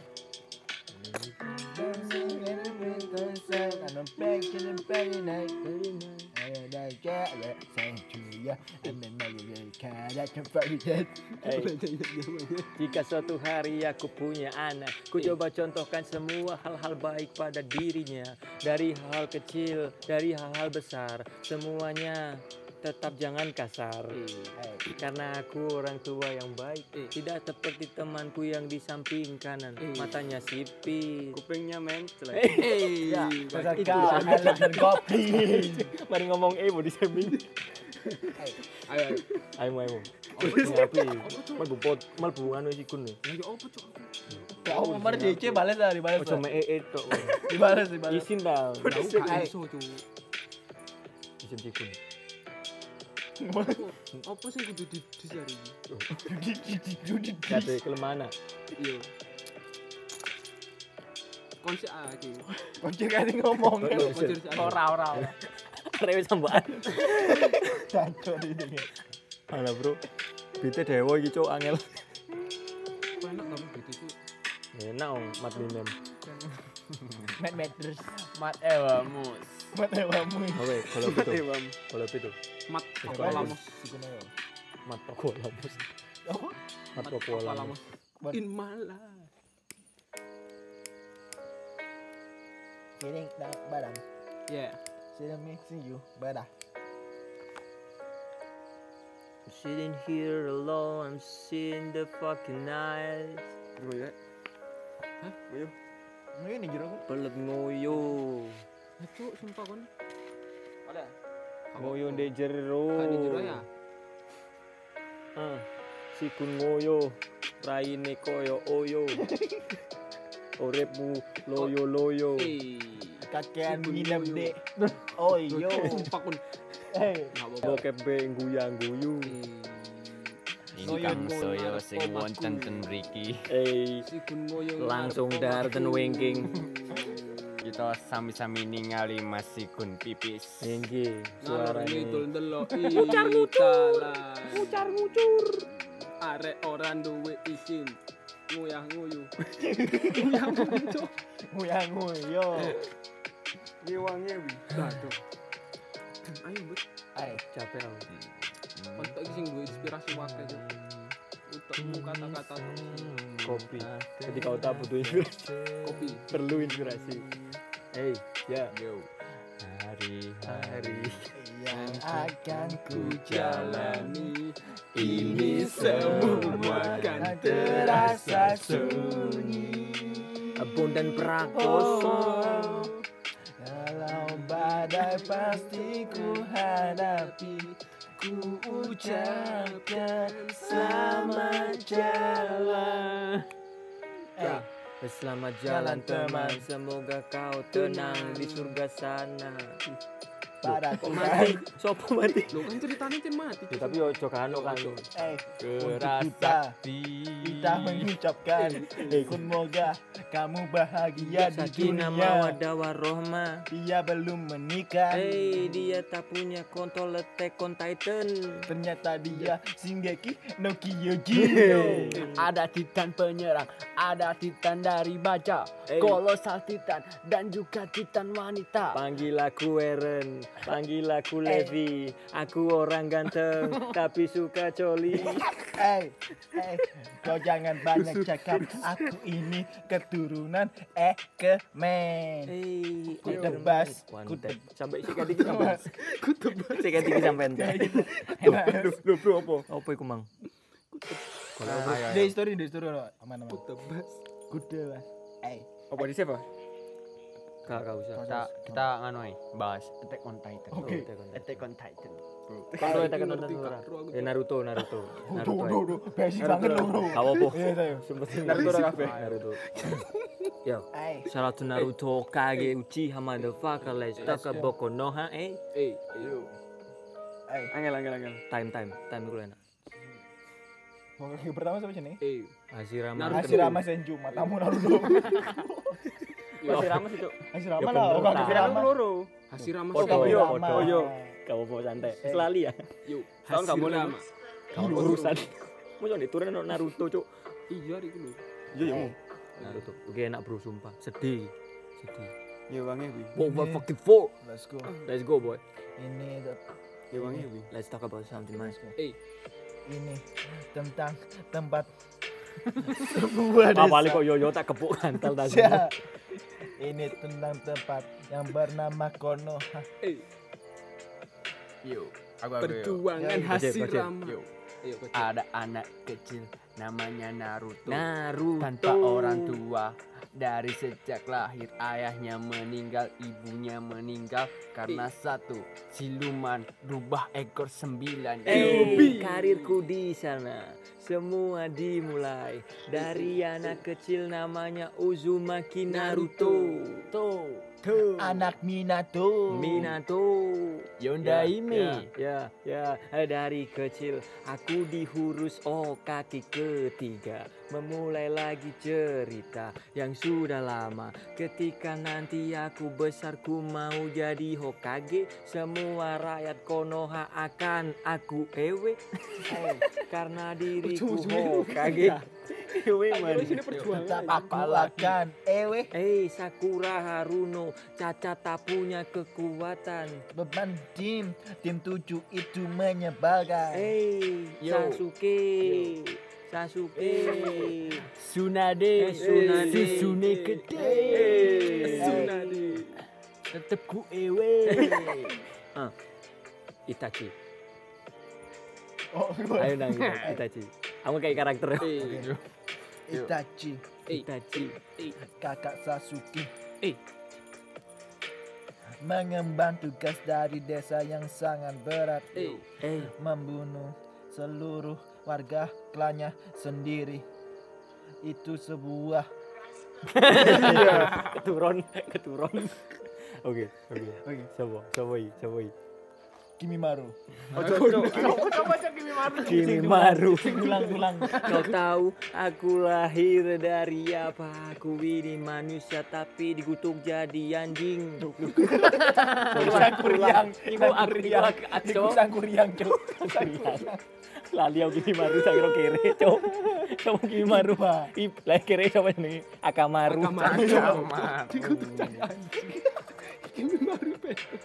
S1: Jika suatu hari aku punya anak, ku coba contohkan semua hal-hal baik pada dirinya. Dari hal kecil, dari hal-hal besar, semuanya tetap jangan kasar. Karena aku orang tua yang baik, tidak seperti temanku yang di samping kanan, matanya sipit,
S4: Kupingnya mencelek.
S2: Ya, itu goblin.
S1: mari ngomong mau di samping.
S4: Ayo.
S1: Ayo. Ngapain? Mal bupot, mal bukan wis ikun nih.
S4: Lagi opo cok?
S2: Oh, kemarin DC balas lah, dibalas.
S1: Ojo me itu.
S2: Dibalas.
S1: Isin dah.
S4: Tahu gak iso tuh.
S1: Isin tikun.
S4: Apa sih kudu disari?
S1: Kate kelemahan.
S4: Iya. Konsep iki.
S2: Kocok kali ngomong kan. Ora.
S1: Rewe sampean.
S2: Cacok ini.
S1: Alah, Bro. Bite dewa iki cuk angel.
S4: Enak kamu gitu tuh.
S1: Enak mat minem.
S2: Matters.
S6: Mat ewamus.
S2: Matewamu.
S1: Oke, kalau itu.
S4: Mat
S1: Apa
S4: Lamos.
S1: Mat toko lamus.
S2: Apa?
S1: Mat toko lamus.
S4: In my life.
S2: Kiring badan.
S4: Yeah.
S2: Sila mixing you badan.
S1: I'm sitting here alone, I'm seeing the fucking night.
S3: Gue ya.
S2: Ini jero kan.
S1: Pelet ngoyo.
S4: Cuk, sumpah kon. Ada.
S1: Ngoyo ndek jero.
S4: Kan di jero ya.
S1: Sikun ngoyo. Raine koyo oyo. Uripmu loyo.
S2: Kakean nginep dek. Oh yo.
S4: Sumpah kon.
S1: Bokep be guyu.
S6: Ingkang saya sing wonten ten mriki.
S4: Si kun ngoyo.
S1: Langsung dar ten wingking.
S6: Kita sami-sami ningali Mas Sikun pipis.
S1: Nggih,
S4: Suarane
S1: suarane.
S4: itu ndelok. Mucar Arek ora duwe isin. Nguyah nguyu.
S2: Nguyang-nguyo.
S3: Ngewangi wi.
S4: Aduh. Ayo, Bet.
S2: Ayo.
S1: Capek aku.
S4: Kontak iki sing duwe inspirasi wae yo. Utekmu kata-kata
S1: Kopi. Ketika kau tak butuh inspirasi,
S4: kopi.
S1: perlu inspirasi. Hey, ya.
S6: Yo. Hari-hari
S2: Yang akan ku
S4: Jalani
S2: ini semua kan terasa sunyi.
S1: Abon dan prakoso.
S2: Kalau badai pasti ku hadapi. Ku ucapkan selamat jalan.
S1: Selamat jalan teman, semoga kau tenang di surga sana.
S2: Pada
S1: Kok mati? Sopo mati?
S4: Lo kan ceritanya tim mati.
S1: Ya, tapi ojo kano kan.
S2: kita mengucapkan semoga kamu bahagia di
S1: Sakinah
S2: dunia.
S1: mawaddah warohmah.
S2: Dia belum menikah.
S1: Dia tak punya kontol letek on Titan.
S2: Ternyata dia Shingeki no Kyojin.
S6: ada titan penyerang, ada titan dari baja, kolosal titan dan juga titan wanita.
S1: Panggil aku Eren, panggil aku Levi. Aku orang ganteng tapi suka coli.
S2: Kau jangan banyak cakap. Aku ini keturunan Ekemen. Ku tebas.
S1: Sampai sikat dikit sampai. Ku tebas. Sikat dikit sampai ente.
S3: Lu bro apa?
S1: Apa iku mang?
S2: Di story aman-aman.
S4: Tebas.
S2: Ku tebas.
S3: Apa di save?
S1: Kagak usah.
S6: Kita nganu bahas Attack on Titan.
S2: Oke.
S6: Attack on Titan.
S1: Kalau kita kan nonton ora. Naruto.
S2: Duh, basic banget lo bro.
S1: Kau apa?
S2: Iya tayo.
S3: Naruto ora kabeh.
S1: Naruto. Yo, shout out to Naruto Kage Uchiha motherfucker. Let's talk about Konoha.
S4: Yo.
S3: Angel.
S1: Time iku enak.
S2: Oke, pertama siapa sih nih?
S1: Hashirama.
S2: Hashirama Senju, matamu Naruto.
S1: Hashirama sih, Cuk.
S2: Hashirama
S1: Ya
S2: lah,
S1: bener,
S2: orang
S1: tak.
S2: Hashirama.
S4: Hashirama
S1: Podo,
S4: Senju.
S1: yo,
S2: Hashirama.
S1: podo. Kau mau santai. Selali ya.
S4: Yo.
S3: Tahun gak boleh,
S4: Hashirama.
S1: Kau urusan. Mau diturun Naruto, Cuk.
S4: Iya iku lho.
S3: Iya ya.
S1: Naruto. Oke, enak bro sumpah. Sedih.
S3: Ngewangi wi.
S1: Wow, fucking four.
S2: Let's go.
S1: Let's go, boy.
S2: Ini
S3: Ngewangi wi.
S1: Let's talk about something nice.
S2: ini tentang tempat sebuah desa.
S1: Apa kok yo tak kepuk kantal tadi.
S2: Ya. Ini tentang tempat yang bernama Konoha.
S6: Yo.
S4: Perjuangan
S2: Yo,
S4: Hashirama.
S6: Yo.
S4: Ayo, Kocek.
S6: Ada anak kecil namanya Naruto.
S1: Naruto.
S6: Tanpa orang tua. Dari sejak lahir ayahnya meninggal, ibunya meninggal karena satu siluman rubah ekor 9.
S1: Karirku di sana semua dimulai dari anak kecil namanya Uzumaki Naruto.
S2: Anak Minato.
S6: Yondaime.
S1: Ya, dari kecil aku dihurus kaki ketiga. Memulai lagi cerita yang sudah lama. Ketika nanti aku besar ku mau jadi Hokage, semua rakyat Konoha akan aku ewe. Karena diriku Hokage.
S2: Tetap aku akan ewe.
S1: Sakura Haruno, Caca tak punya kekuatan.
S2: Beban tim 7 itu menyebalkan.
S1: Sasuke.
S6: Tsunade. Susune gede.
S4: Tsunade.
S6: Tetep ku ewe.
S1: Itachi.
S2: Oh,
S1: Ayo nang Itachi. Kamu kayak karakter.
S2: Itachi, kakak Sasuke. Mengemban tugas dari desa yang sangat berat. Membunuh seluruh warga klannya sendiri. Itu sebuah
S1: keturun. Oke. Coba.
S2: Kimimaru.
S4: Coba cek
S1: Kimimaru.
S2: Ulang.
S1: Kau tahu aku lahir dari apa? Aku ini manusia tapi dikutuk jadi anjing.
S2: Kuriang.
S1: Lali aku Kimimaru saya kira kere, Cok. Kamu Kimimaru. Lah kere sama jenenge Akamaru.
S4: Dikutuk jadi anjing. Kimimaru betul.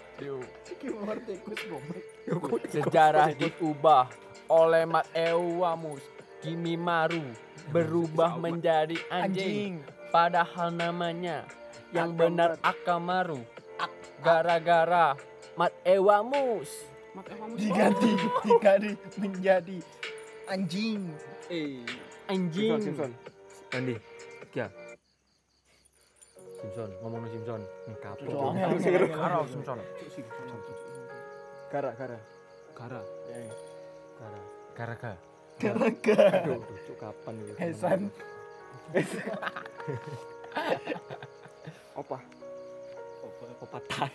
S6: Sejarah diubah oleh Mat Ewamus. Kimimaru berubah menjadi anjing. Padahal namanya yang benar Akamaru. Gara-gara Mat Ewamus.
S2: Diganti menjadi anjing.
S6: Anjing.
S4: Simpson.
S1: Andi. Kia. Simpson, ngomong Simpson. Kapok.
S2: Karo Simpson.
S3: Kara.
S1: Aduh, tuh kapan gitu.
S2: Hesan.
S3: Opa.
S1: Tai.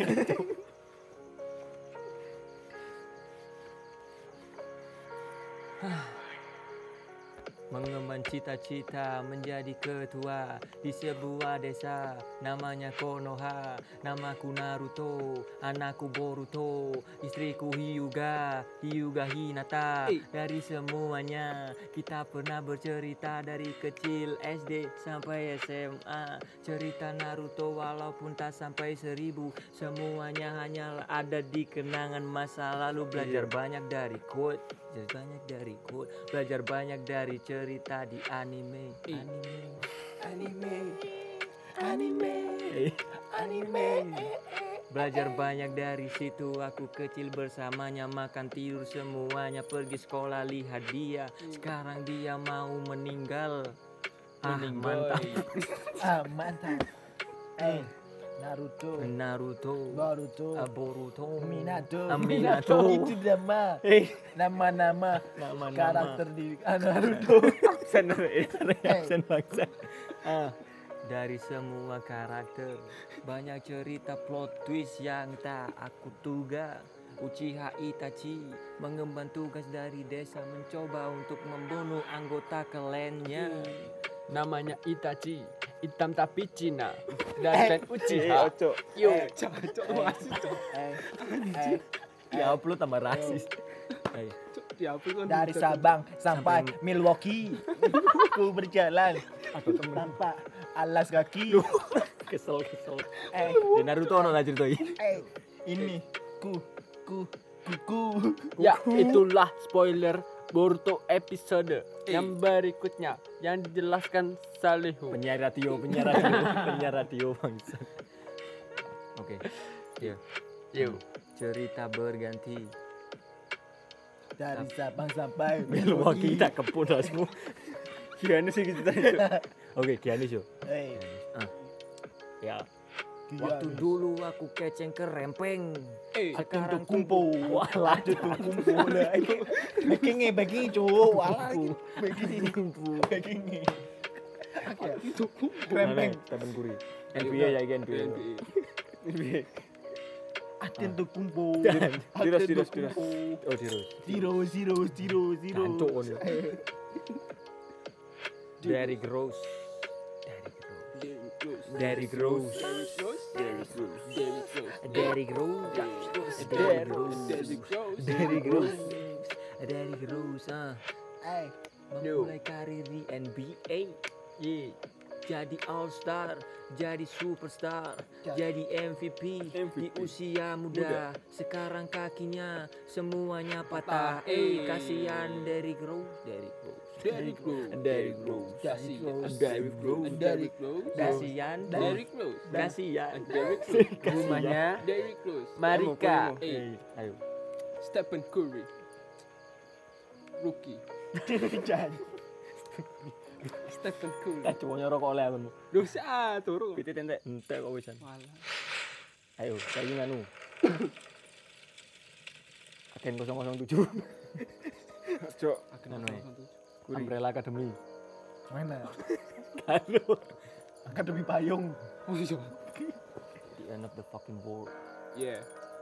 S1: Mengemban cita-cita menjadi ketua di sebuah desa namanya Konoha. Namaku Naruto, anakku Boruto, istriku Hyuga Hinata. Dari semuanya kita pernah bercerita dari kecil SD sampai SMA. Cerita Naruto walaupun tak sampai 1000, semuanya hanyalah ada di kenangan masa lalu. Belajar banyak dari quote, belajar banyak dari cerita di anime. Belajar banyak dari situ. Aku kecil bersamanya, makan tidur semuanya, pergi sekolah lihat dia. Sekarang dia mau meninggal. Mantap.
S2: Mantap. Naruto, Boruto, Minato. Itu nama karakter di Naruto.
S1: Absen bangsa. Dari semua karakter banyak cerita plot twist yang tak aku duga. Uchiha Itachi mengemban tugas dari desa, mencoba untuk membunuh anggota klannya.
S6: Namanya Itachi, hitam tapi Cina. Dan Uchiha.
S1: Yo, ya upload tambah rasis.
S2: Dari Sabang sampai Milwaukee, ku berjalan tanpa alas kaki.
S1: Kesel. Di Naruto ono lah cerita ini.
S2: Ini ku.
S6: Ya, itulah spoiler Boruto episode yang berikutnya yang dijelaskan Salihu.
S1: Penyiar radio bangsa. Oke. Yuk. Cerita berganti.
S2: Dari Sabang sampai
S1: Milwaukee tak kepun asmu. Giannis sih kita itu. Oke, Giannis yo. Ya. Waktu dulu aku keceng kerempeng.
S2: Sekarang
S1: Sekarang
S2: kumpo. Walah itu kumpo lah. Bagi cuk. Walah bagi kumpo. Bagi. Krempeng.
S3: Temen kuri. NBA ya iki NBA. NBA.
S2: Aten tuh kumpo.
S3: Tiros. Oh, tiros.
S2: Zero.
S3: Jancuk kon yo.
S1: Derrick Rose. Derrick Rose. Derrick Rose. Memulai karir di NBA. Jadi All Star, jadi superstar, jadi MVP di usia muda. Sekarang kakinya semuanya patah. Kasihan Derrick Rose. Kasihan.
S6: Rumahnya Marika.
S3: Ayo.
S4: Stephen Curry. Rookie. Stephen Curry.
S3: Cowoknya rokok oleh aku.
S4: Dosa turu.
S3: Pitit entek kok wisan.
S4: Walah.
S3: Ayo, saiki nganu. Agen 007. Cok,
S4: Kenapa?
S3: Umbrella Academy.
S2: Mana?
S3: Halo.
S2: Akademi payung.
S4: Oh iya.
S3: The end of the fucking world.
S4: Yeah.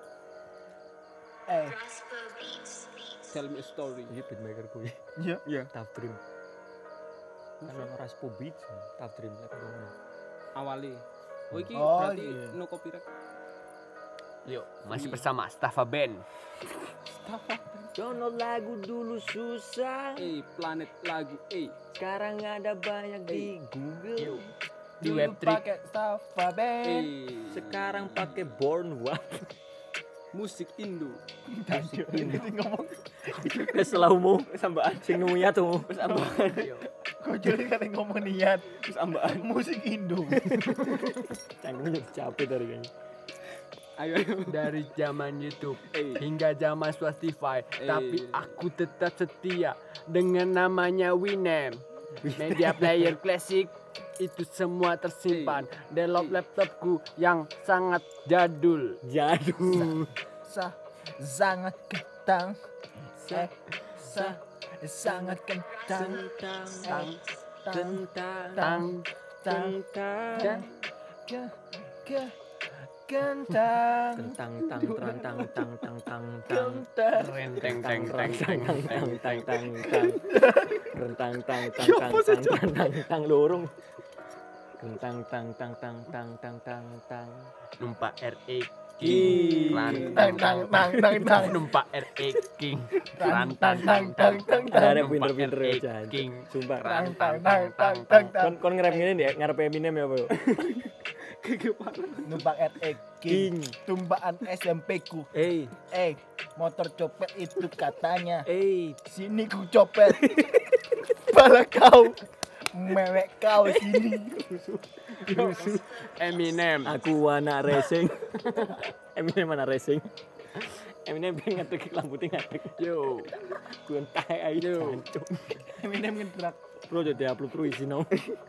S4: Tell me a story.
S3: Ini beatmaker gue.
S2: Iya.
S3: Tough Dream. Kan ono Raspo Beats, Tough Dream lek ngono.
S4: Awali. Oh iki
S2: Oh,
S4: berarti
S2: iya.
S4: no copyright.
S6: Yuk, masih bersama Staffa Band.
S1: Download lagu dulu susah.
S4: Planet lagu.
S1: Sekarang ada banyak di Google.
S6: Di
S2: Dulu
S6: Web3.
S2: pakai Staffa Band.
S1: Sekarang pakai Born Wap.
S4: Musik Indo.
S2: Ini ngomong.
S1: Keselaumu sambaan sing nuya tuh.
S2: Kok jadi kata ngomong niat.
S3: Terus ambaan
S2: Musik Indo.
S3: canggung capek dari kayaknya.
S4: Ayo.
S6: Dari zaman YouTube hingga zaman Spotify, tapi aku tetap setia dengan namanya Winem. Media player klasik itu semua tersimpan dalam laptopku yang sangat jadul.
S2: Sangat kentang. Sangat kentang. Kentang.
S3: Lorong.
S6: Numpak RE King. Numpak RE King.
S3: Ada pinter-pinter
S6: RE
S3: aja.
S6: King.
S3: Sumpah. Kon nge-rap ngene ya, ngarep Eminem ya, Bro.
S2: Numpak RE King. Tumpaan SMP ku. Motor copet itu katanya. Sini ku copet. Pala kau. Mewek kau sini.
S6: Eminem.
S3: Aku anak racing. Eminem anak racing. Eminem pengen ngetik lampu ngetik.
S6: Yo.
S3: Ku entah ayo.
S2: Eminem ngedrak.
S3: Bro jadi upload terus isino.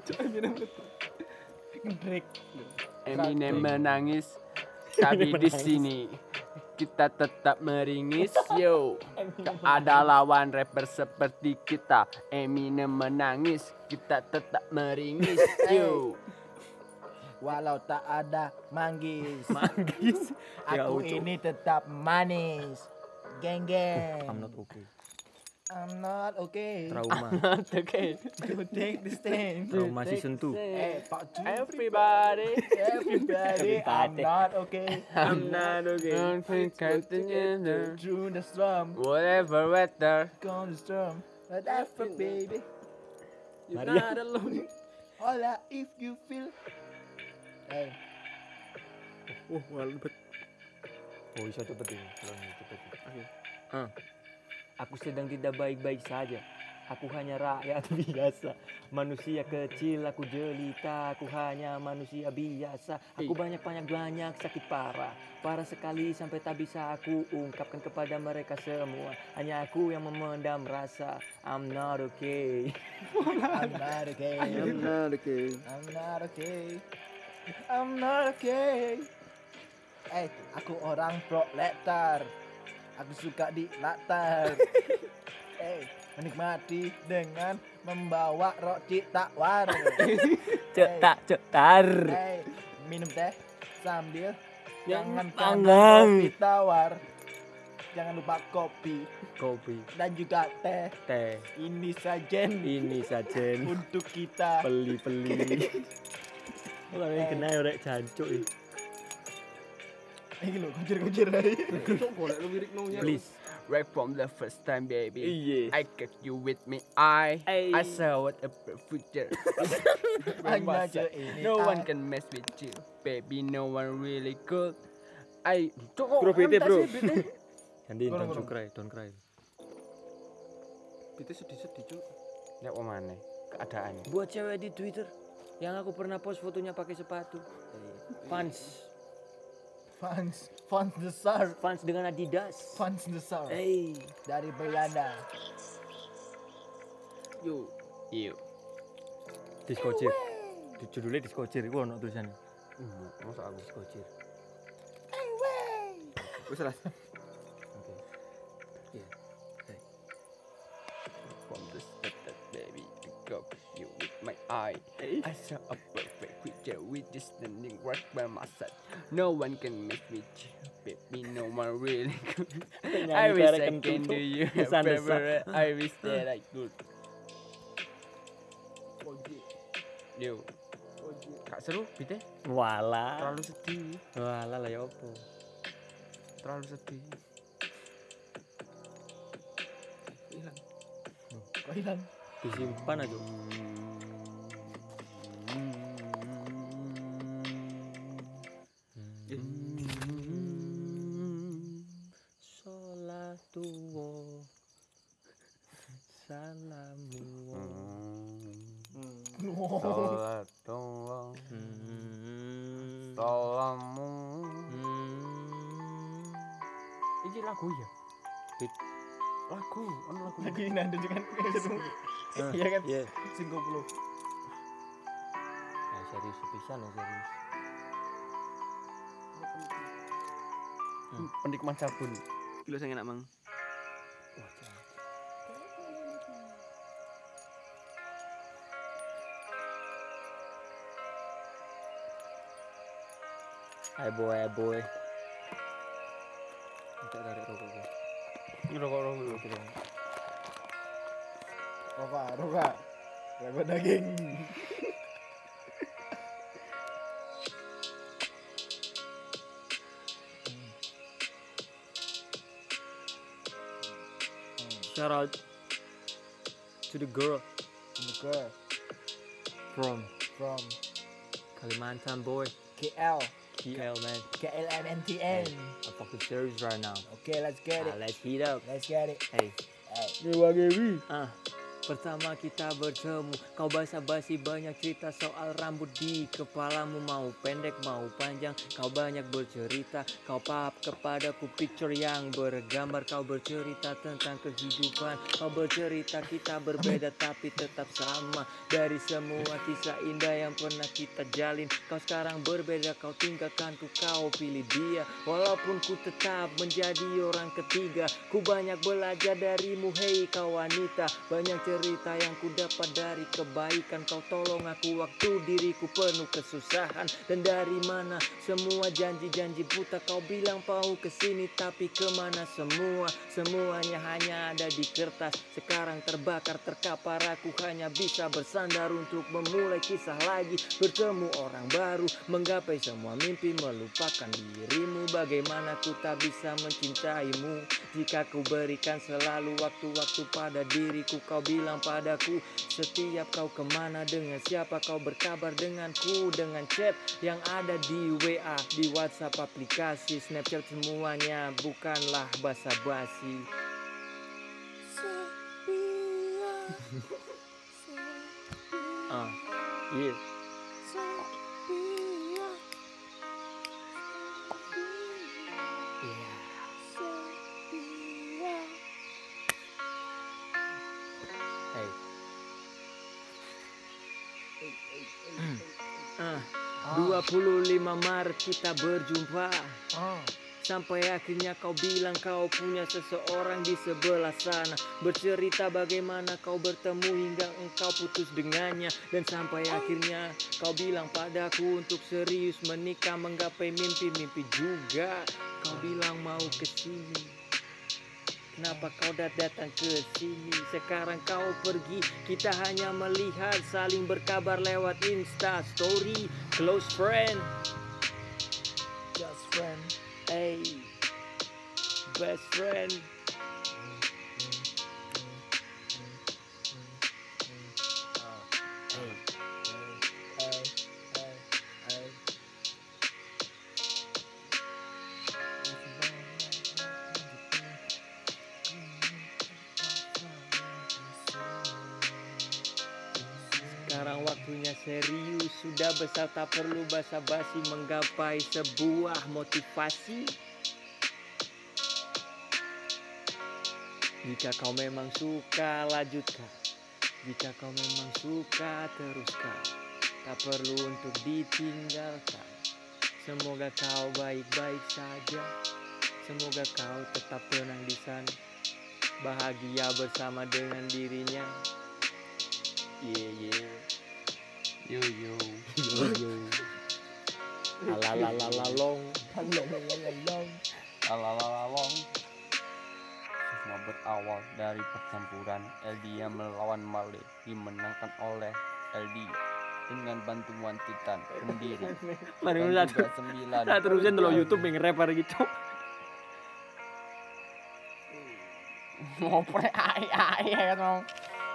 S2: Ngedrak.
S6: Eminem menangis, tapi di sini kita tetap meringis. Yo, tak ada lawan rapper seperti kita. Eminem menangis, kita tetap meringis. Yo,
S2: Walau tak ada manggis.
S3: Ya,
S2: Aku
S3: Ucok.
S2: ini tetap manis. Geng geng.
S3: I'm not okay.
S2: I'm not okay.
S3: Trauma.
S6: okay.
S2: To take the stand.
S3: Trauma season 2.
S2: Pak Ju.
S6: Everybody,
S2: Everybody, I'm not okay.
S3: I'm not okay.
S6: don't think together.
S2: Through the storm,
S6: Whatever weather.
S2: gone the storm. Whatever, baby.
S4: You're
S3: Maria.
S4: not alone.
S2: Hola, if you feel.
S3: Walbet. Oh, bisa cepet ini. Cepet.
S1: Aku sedang tidak baik-baik saja. Aku hanya rakyat biasa. Manusia kecil, aku jelita. Aku hanya manusia biasa. Aku banyak sakit parah. Parah sekali sampai tak bisa aku ungkapkan kepada mereka semua. Hanya aku yang memendam rasa. I'm not okay.
S2: I'm not okay.
S3: I'm not okay.
S2: I'm not okay. I'm not okay. Aku orang proletar. Aku suka di latar. Menikmati dengan membawa roti tawar.
S3: Cetar.
S2: Minum teh sambil
S3: Yang
S2: jangan
S3: panggang.
S2: kopi tawar. Jangan lupa kopi
S3: Kopi,
S2: dan juga teh.
S3: teh,
S2: Ini sajen
S3: ini sajen.
S2: untuk kita.
S3: Peli. Kalau yang kena orek jancuk iki.
S2: Ini lo kujir aja.
S4: Sok golek lu lirik nongnya.
S3: Please.
S4: Right from the first time, baby.
S3: Iya.
S4: I kept you with me. I
S3: Ay.
S4: saw what a future.
S2: Hanya aja ini.
S4: No one can mess with you, baby. No one really could.
S3: Bro, bete, bro. Ganti,
S2: Kurang.
S3: don't cry.
S4: Itu sedih-sedih, Cuk.
S7: Ya mana keadaan.
S1: Buat cewek di Twitter yang aku pernah post fotonya pakai sepatu. Fans
S2: Besar.
S1: Fans dengan Adidas.
S2: Fans besar. Dari Belanda.
S4: Yo.
S7: Iya.
S3: Diskocir. Judulnya diskocir, iku ono tulisannya.
S7: Masa aku
S3: Diskocir.
S7: wis lah.
S4: From the start, baby, I got you with my eye. I saw a perfect picture with you standing right by my side. No one can mess with you, baby. No one really could. I wish I can do you a favor. I wish that I could. Yo,
S7: Gak seru bite?
S3: Walah.
S7: Terlalu sedih.
S3: Walah lah ya opo.
S7: Terlalu sedih.
S2: Kok hilang?
S3: Disimpan aja. Sholatuwo. Salamu.
S7: Salatullah. Salamu. Iki lagu ya? Lagu, ono lagu.
S2: Lagi ini ada juga kan. Iya kan?
S3: Iya.
S2: Sing goblok.
S3: Nah, serius pisan ya serius.
S7: Penikmat sabun.
S4: kilo saya enak mang.
S3: Wah, jangan. Hai boy. Minta tarik rokok gue.
S7: Ini rokok dulu.
S2: Roka. Lagu daging.
S3: Shout out to the girl
S2: Girl
S3: from
S2: from
S3: Kalimantan boy.
S2: KL.
S3: KL man.
S2: KLMNTN.
S3: I'm fucking serious right now.
S2: Okay, let's get it.
S3: Let's heat up.
S2: Let's get it.
S3: Hey.
S2: Hey.
S1: Pertama kita bertemu, kau basa-basi banyak cerita soal rambut di kepalamu. Mau pendek, mau panjang, kau banyak bercerita. Kau pahap kepadaku picture yang bergambar. Kau bercerita tentang kehidupan. Kau bercerita kita berbeda tapi tetap sama. Dari semua kisah indah yang pernah kita jalin, kau sekarang berbeda, kau tinggalkanku, kau pilih dia. Walaupun ku tetap menjadi orang ketiga, ku banyak belajar darimu, hei kau wanita. Banyak cerita yang ku dapat dari kebaikan. Kau tolong aku waktu diriku penuh kesusahan. Dan dari mana semua janji-janji buta. Kau bilang mau kesini tapi kemana semua. Semuanya hanya ada di kertas. Sekarang terbakar terkapar. Aku hanya bisa bersandar untuk memulai kisah lagi. Bertemu orang baru, menggapai semua mimpi, melupakan dirimu. Bagaimana ku tak bisa mencintaimu jika ku berikan selalu waktu-waktu pada diriku. Kau bilang padaku setiap kau kemana, dengan siapa kau berkabar denganku. Dengan chat yang ada di WA, di WhatsApp, aplikasi Snapchat, semuanya bukanlah basa-basi. Yeah. Hey. 20 25 Maret kita berjumpa.
S2: Oh.
S1: Sampai akhirnya kau bilang kau punya seseorang di sebelah sana. Bercerita bagaimana kau bertemu hingga engkau putus dengannya. Dan sampai akhirnya kau bilang padaku untuk serius menikah, menggapai mimpi-mimpi juga. Kau bilang mau kesini. Kenapa kau datang ke sini? Sekarang kau pergi, kita hanya melihat, saling berkabar lewat Insta Story. Close friend,
S2: Just friend.
S1: hey, best friend. Sekarang waktunya serius, sudah besar tak perlu basa-basi, menggapai sebuah motivasi. Jika kau memang suka, lanjutkan. Jika kau memang suka, teruskan. Tak perlu untuk ditinggalkan. Semoga kau baik-baik saja. Semoga kau tetap tenang di sana, bahagia bersama dengan dirinya. Yeah.
S4: Yo yo.
S1: Alalalalong.
S4: Alalalong. Semua berawal dari pertempuran Eldia melawan Male, dimenangkan oleh Eldia dengan bantuan Titan sendiri.
S3: Mari
S4: Dan
S3: satu.
S4: juga 9.
S3: Nah, terusin dulu YouTube yang rapper gitu.
S4: Ngoprek ai ya dong.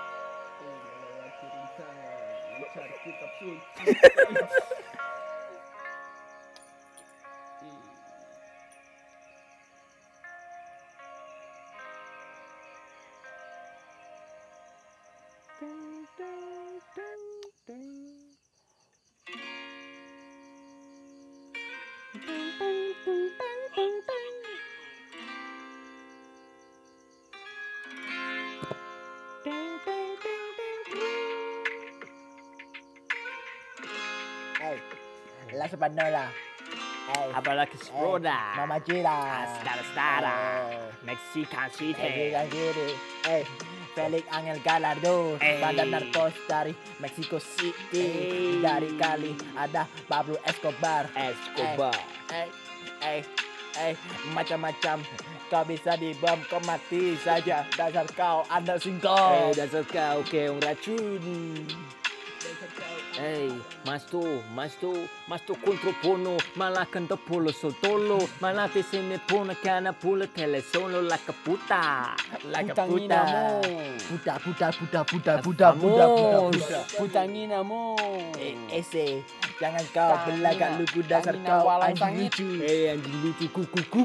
S2: Hey, la Spanola. Hey,
S3: Apalagi Sproda.
S2: Mama Cira.
S3: Stara. Mexican City.
S2: Hey, Felix Angel Gallardo,
S3: Hey.
S2: badan narkos dari Mexico City.
S3: Hey.
S2: Dari Kali ada Pablo Escobar.
S3: Escobar.
S2: Macam-macam. Kau bisa dibom, kau mati saja. Dasar kau anak singkong.
S1: Dasar kau keong racun. Masto contropono, malacanta polo sotolo, malate se me pone cana pula telesono la caputa.
S2: Puta.
S4: Putangina mo.
S2: Ese, jangan kau belagak lugu dasar
S4: Tangina
S2: kau
S4: walang
S2: anjing
S4: sangit.
S2: lucu.
S1: Anjing lucu kuku.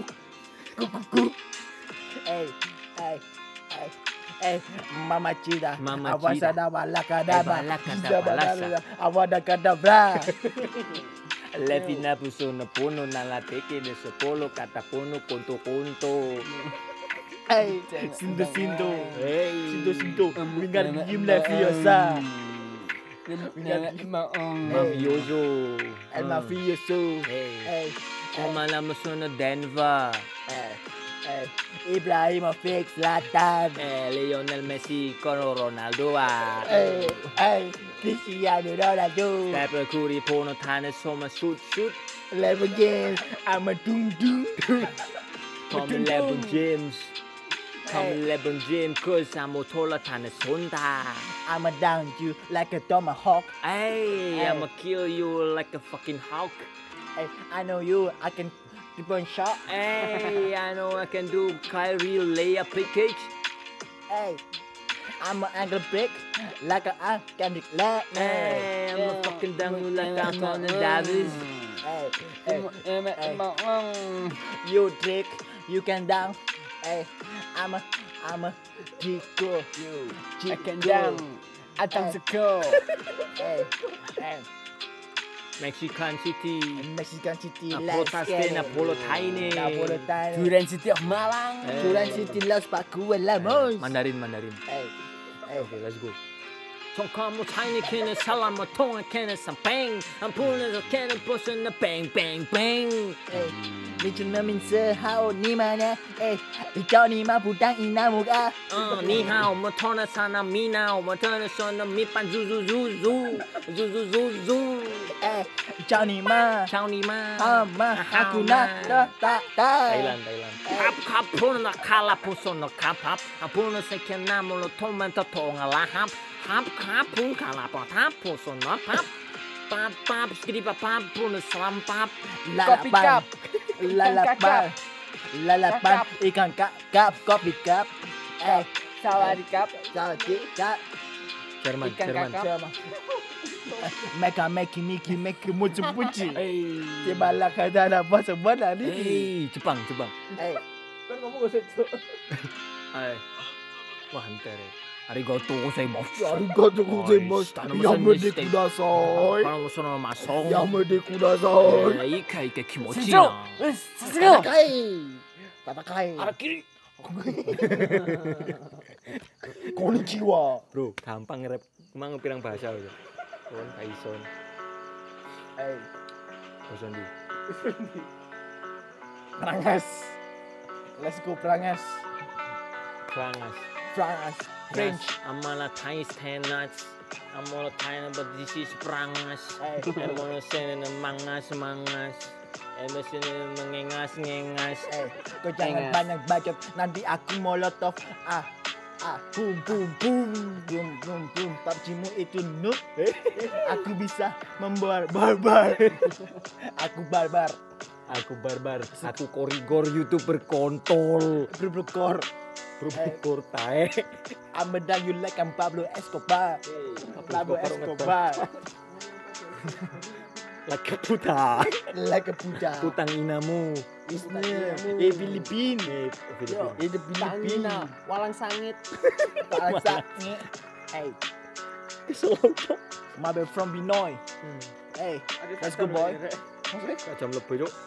S2: Mama Cida,
S1: Mama
S2: awasada walakadaba,
S1: Abalakadabalasa.
S2: awadakadabra.
S1: Latina puso na puno na lateke de sopolo katapono konto.
S2: Sindo,
S1: Hey,
S2: sindo, wingar gim la fiosa,
S1: mafioso.
S2: el mafioso.
S1: Hey, Kumalamos na Denver.
S2: Ibrahimovic Zlatan.
S1: Lionel Messi con Ronaldo.
S2: Cristiano Ronaldo.
S1: Stephen Curry på något han är som en shoot.
S2: LeBron James, I'm a dum.
S1: Come LeBron James. Cause I'm a taller than a sonda.
S2: I'ma down you like a tomahawk.
S1: Hey, I'ma kill you like a fucking hawk.
S2: Hey, I know you, I can keep on shot.
S1: Hey, I know I can do Kyrie layup package.
S2: Hey, I'm an angle break like a Kendrick Lamar.
S1: Hey, I'm a fucking down you like Anthony Davis.
S2: Hey, you trick, you can down. Hey, I'm a Chico.
S4: I can down. Atang seko.
S2: Hey,
S1: Mexican City.
S2: Mexican City,
S1: Napolo Taine.
S4: Duren City of Malang.
S2: Duran City, Los Pacuan, Lamos.
S1: Mandarin.
S2: Hey,
S1: Okay, let's go.
S3: Kamu tiny kene salam tonga kene sampeng ampun에서 kene 보스는 bang bang bang
S2: 你真的名字好你们呢？叫你们不当一那木啊！
S3: 你好我们同的sana mina 我们同的说的米饭 zu
S2: 叫你们
S3: 叫你们
S2: 好吗？aku nak
S3: Thailand Kap pun nak kalah pun sono kap pun sekian nama lo toman totonga lahap Hap pun kalah pun tap pun sono pap skidi pap pun selampap
S6: Kopi cup.
S2: lalapan ikan kap kopi kap
S6: Sawadikap.
S3: Jerman
S6: Ikan kakap.
S2: Meka meki mucu puci cebala kada ada apa sebenarnya ni
S3: Jepang
S2: kan ngomong gak usah
S3: wah hantar arigato gozaimasu
S2: arigato gozaimasu yamede kudasai
S3: sono masong
S2: yamede kudasai
S3: ika kimochi na
S2: tatakai
S3: arakiri
S2: konnichiwa
S3: bro gampang rap emang pirang bahasa lho kon kaison bahasa ndi
S2: Prangas let's go Prangas French
S3: I'm on a Thai stand nuts I'm on a Thai but this is Prangas I'm on a stand mangas Emosin mengengas
S2: kau jangan banyak bacot nanti aku molotov boom PUBG-mu itu noob aku bisa membuat barbar aku barbar
S3: aku korigor YouTuber kontol
S2: berbekor
S3: tae
S2: Amedang you like Pablo Escobar
S3: like puta
S2: like a puta
S3: putang inamu
S2: Filipin
S6: Tangina. Walang sangit.
S2: Pangsaknya Mabel from Binoy let's go boy
S3: jam lebih cok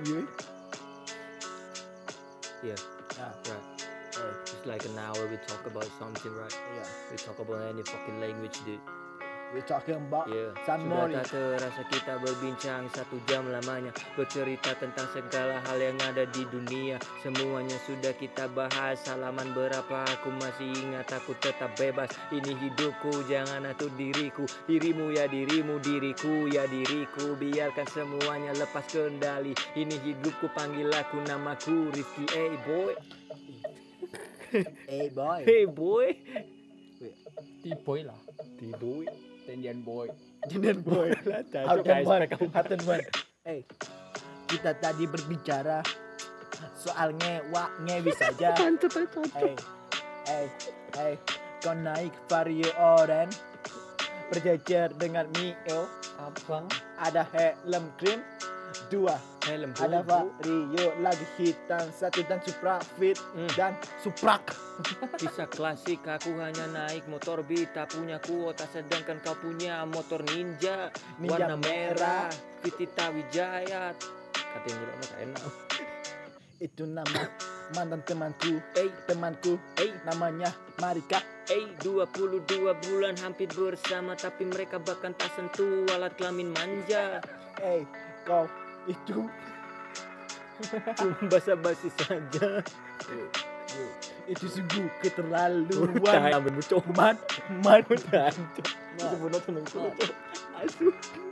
S3: yeah it's like an hour we talk about something right we talk about any fucking language dude
S2: we talking about
S3: Sudah
S2: Sanmori
S3: tak terasa kita berbincang 1 jam lamanya bercerita tentang segala hal yang ada di dunia. Semuanya sudah kita bahas. Halaman berapa aku masih ingat, aku tetap bebas. Ini hidupku, jangan atur diriku. Dirimu ya dirimu, diriku ya diriku. Biarkan semuanya lepas kendali. Ini hidupku, panggil aku namaku Rifki. Hey boy. Hey boy.
S6: T-boy lah.
S3: T-boy.
S6: Tendian boy.
S2: Jenen boy Haten one kita tadi berbicara soal ngewi saja kau naik Vario Oren berjejer dengan Mio
S6: Abang.
S2: ada helm krim 2
S3: Helm
S2: ada Vario lagi hitam 1 dan Supra Fit dan Suprak
S3: Kisah klasik, aku hanya naik motor Bita, punya kuota sedangkan kau punya motor Ninja warna merah Vitita Wijaya. Katanya juga mah enak.
S2: itu nama mantan temanku namanya Marika
S3: 22 bulan hampir bersama, tapi mereka bahkan tak sentuh alat kelamin manja.
S2: Kau itu
S3: Cuma basa-basi saja.
S2: itu sungguh keterlaluan
S3: Ambil bucok
S2: man
S3: Itu benar tenang Asu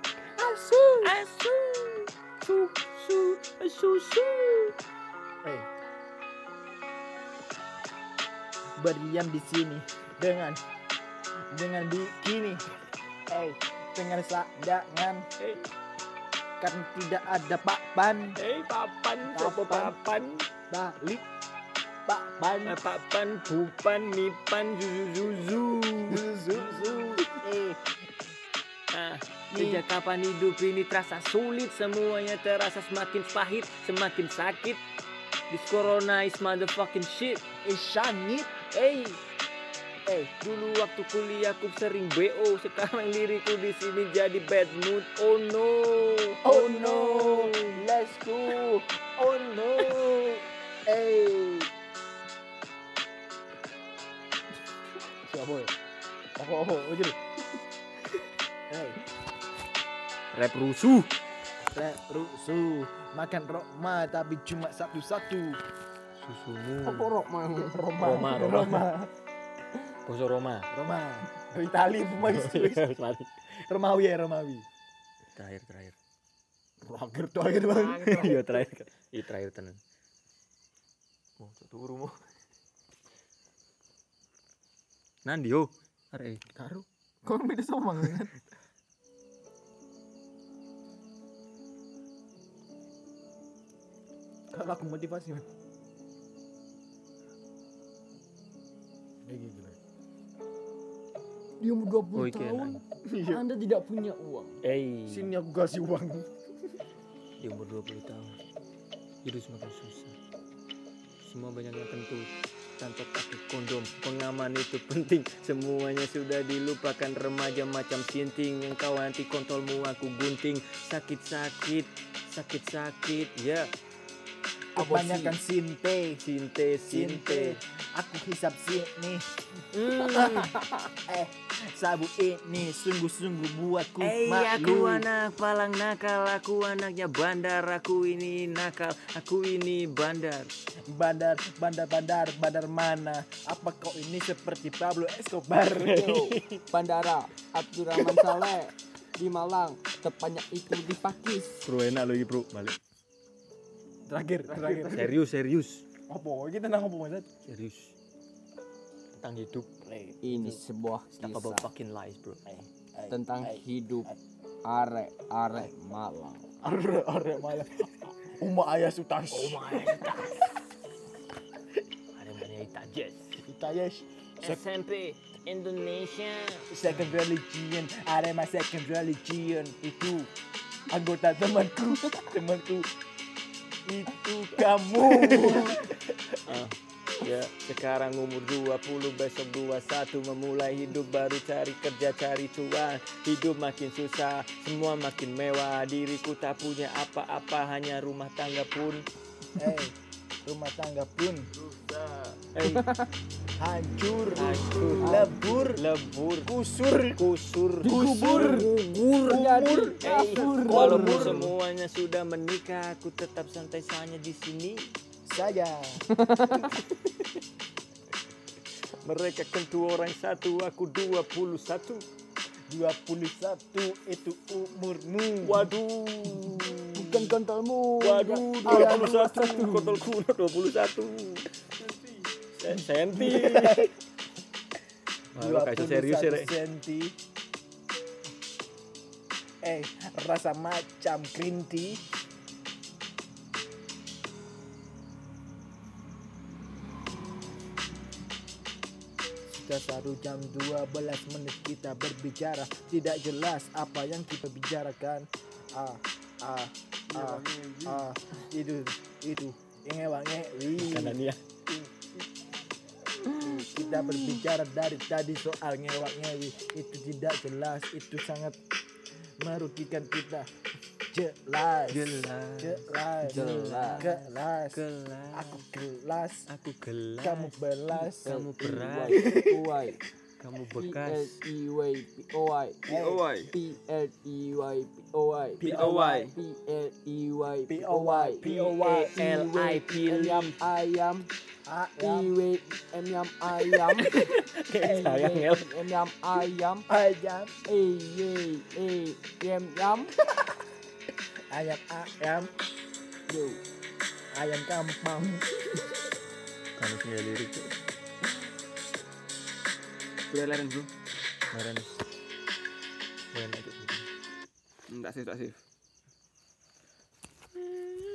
S2: berdiam di sini dengan bikini dengan sadangan karena tidak ada papan balik papan
S3: bupan mipan zuzu sejak kapan hidup ini terasa sulit, semuanya terasa semakin pahit, semakin sakit. This corona is motherfucking shit.
S2: sangit
S3: Dulu waktu kuliah aku sering BO, sekarang diriku di sini jadi bad mood. Oh no,
S2: let's go siapa ya? Oh, jadi
S1: Rap rusuh.
S2: Rusuh. Makan Roma tapi cuma satu-satu.
S1: Susumu.
S7: Apa rok mah?
S1: Roma. Boso Roma.
S2: Itali pemain. Romawi.
S1: Terakhir.
S2: Terakhir bang.
S1: Iya terakhir. Iya terakhir tenan. Oh, turu mo. Nandi yo. Arek.
S2: Karo. Kau beda sama kan? Kalau aku motivasi man. Gila.
S6: Di umur 20
S1: Oh, iki
S6: tahun,
S1: enak.
S6: Anda tidak punya uang.
S2: Sini aku kasih uang.
S1: Di umur 20 tahun hidup semakin susah. Semua banyak yang kentut tanpa pakai kondom. Pengaman itu penting. Semuanya sudah dilupakan. Remaja macam sinting. Engkau anti kontolmu aku gunting. Sakit ya.
S2: Kebanyakan sinte.
S1: Sinte.
S2: Aku hisap sini. Sabu ini sungguh-sungguh buatku
S1: Aku
S2: malu.
S1: anak palang nakal. Aku anaknya bandar. Aku ini nakal. Aku ini bandar.
S2: Bandar mana? Apa kau ini seperti Pablo Escobar?
S6: Bandara Abdurrahman Saleh di Malang, tepatnya itu di Pakis.
S1: Bro enak lagi bro. Balik.
S2: Terakhir.
S1: Serius.
S2: Apa? Kita nang apa Mas?
S1: Serius. Tentang hidup.
S6: Ini sebuah
S1: Talk about
S6: kisah
S1: fucking lies bro.
S6: tentang hidup arek Malang.
S2: Arek malah. Uma ayah sutas.
S1: Ada mana Itajes.
S2: Kita yes.
S1: SMP Indonesia.
S2: Second religion. Arema second religion. Itu anggota temanku. Itu kamu.
S1: Ya, sekarang umur 20, besok 21, memulai hidup baru, cari kerja, cari cuan. Hidup makin susah, semua makin mewah. Diriku tak punya apa-apa, hanya rumah tangga pun
S2: Rumah tangga pun
S1: hancur,
S2: lebur, kusur,
S6: Gugur jadi kafur.
S1: walaupun semuanya sudah menikah, aku tetap santai saja di sini.
S2: saja.
S1: Mereka kentu orang satu, aku 21.
S2: 21 itu umurmu.
S1: Waduh.
S6: Bukan kontolmu.
S1: Waduh, 21. Kontol kuno 21. Senti. Malu kasih serius ya, Rek.
S2: senti. Rasa macam green tea. Sudah 1 jam 12 menit kita berbicara. Tidak jelas apa yang kita bicarakan. Itu ngewangewi.
S1: Kanan ya.
S2: Kita berbicara dari tadi soal ngewak-ngewi. Itu tidak jelas. Itu sangat merugikan kita. Jelas. Aku gelas. Kamu belas.
S1: Kamu beras.
S6: Uy.
S1: Kamu bekas.
S6: PLEY. Ayam. Ayam.
S1: Sayang ya.
S6: Ayam.
S2: Ayam.
S6: Yo.
S2: Ayam kampung.
S1: Kamu punya lirik tuh.
S7: Udah leren bro.
S1: Kemarin. Kemarin aja.
S7: Tak sih.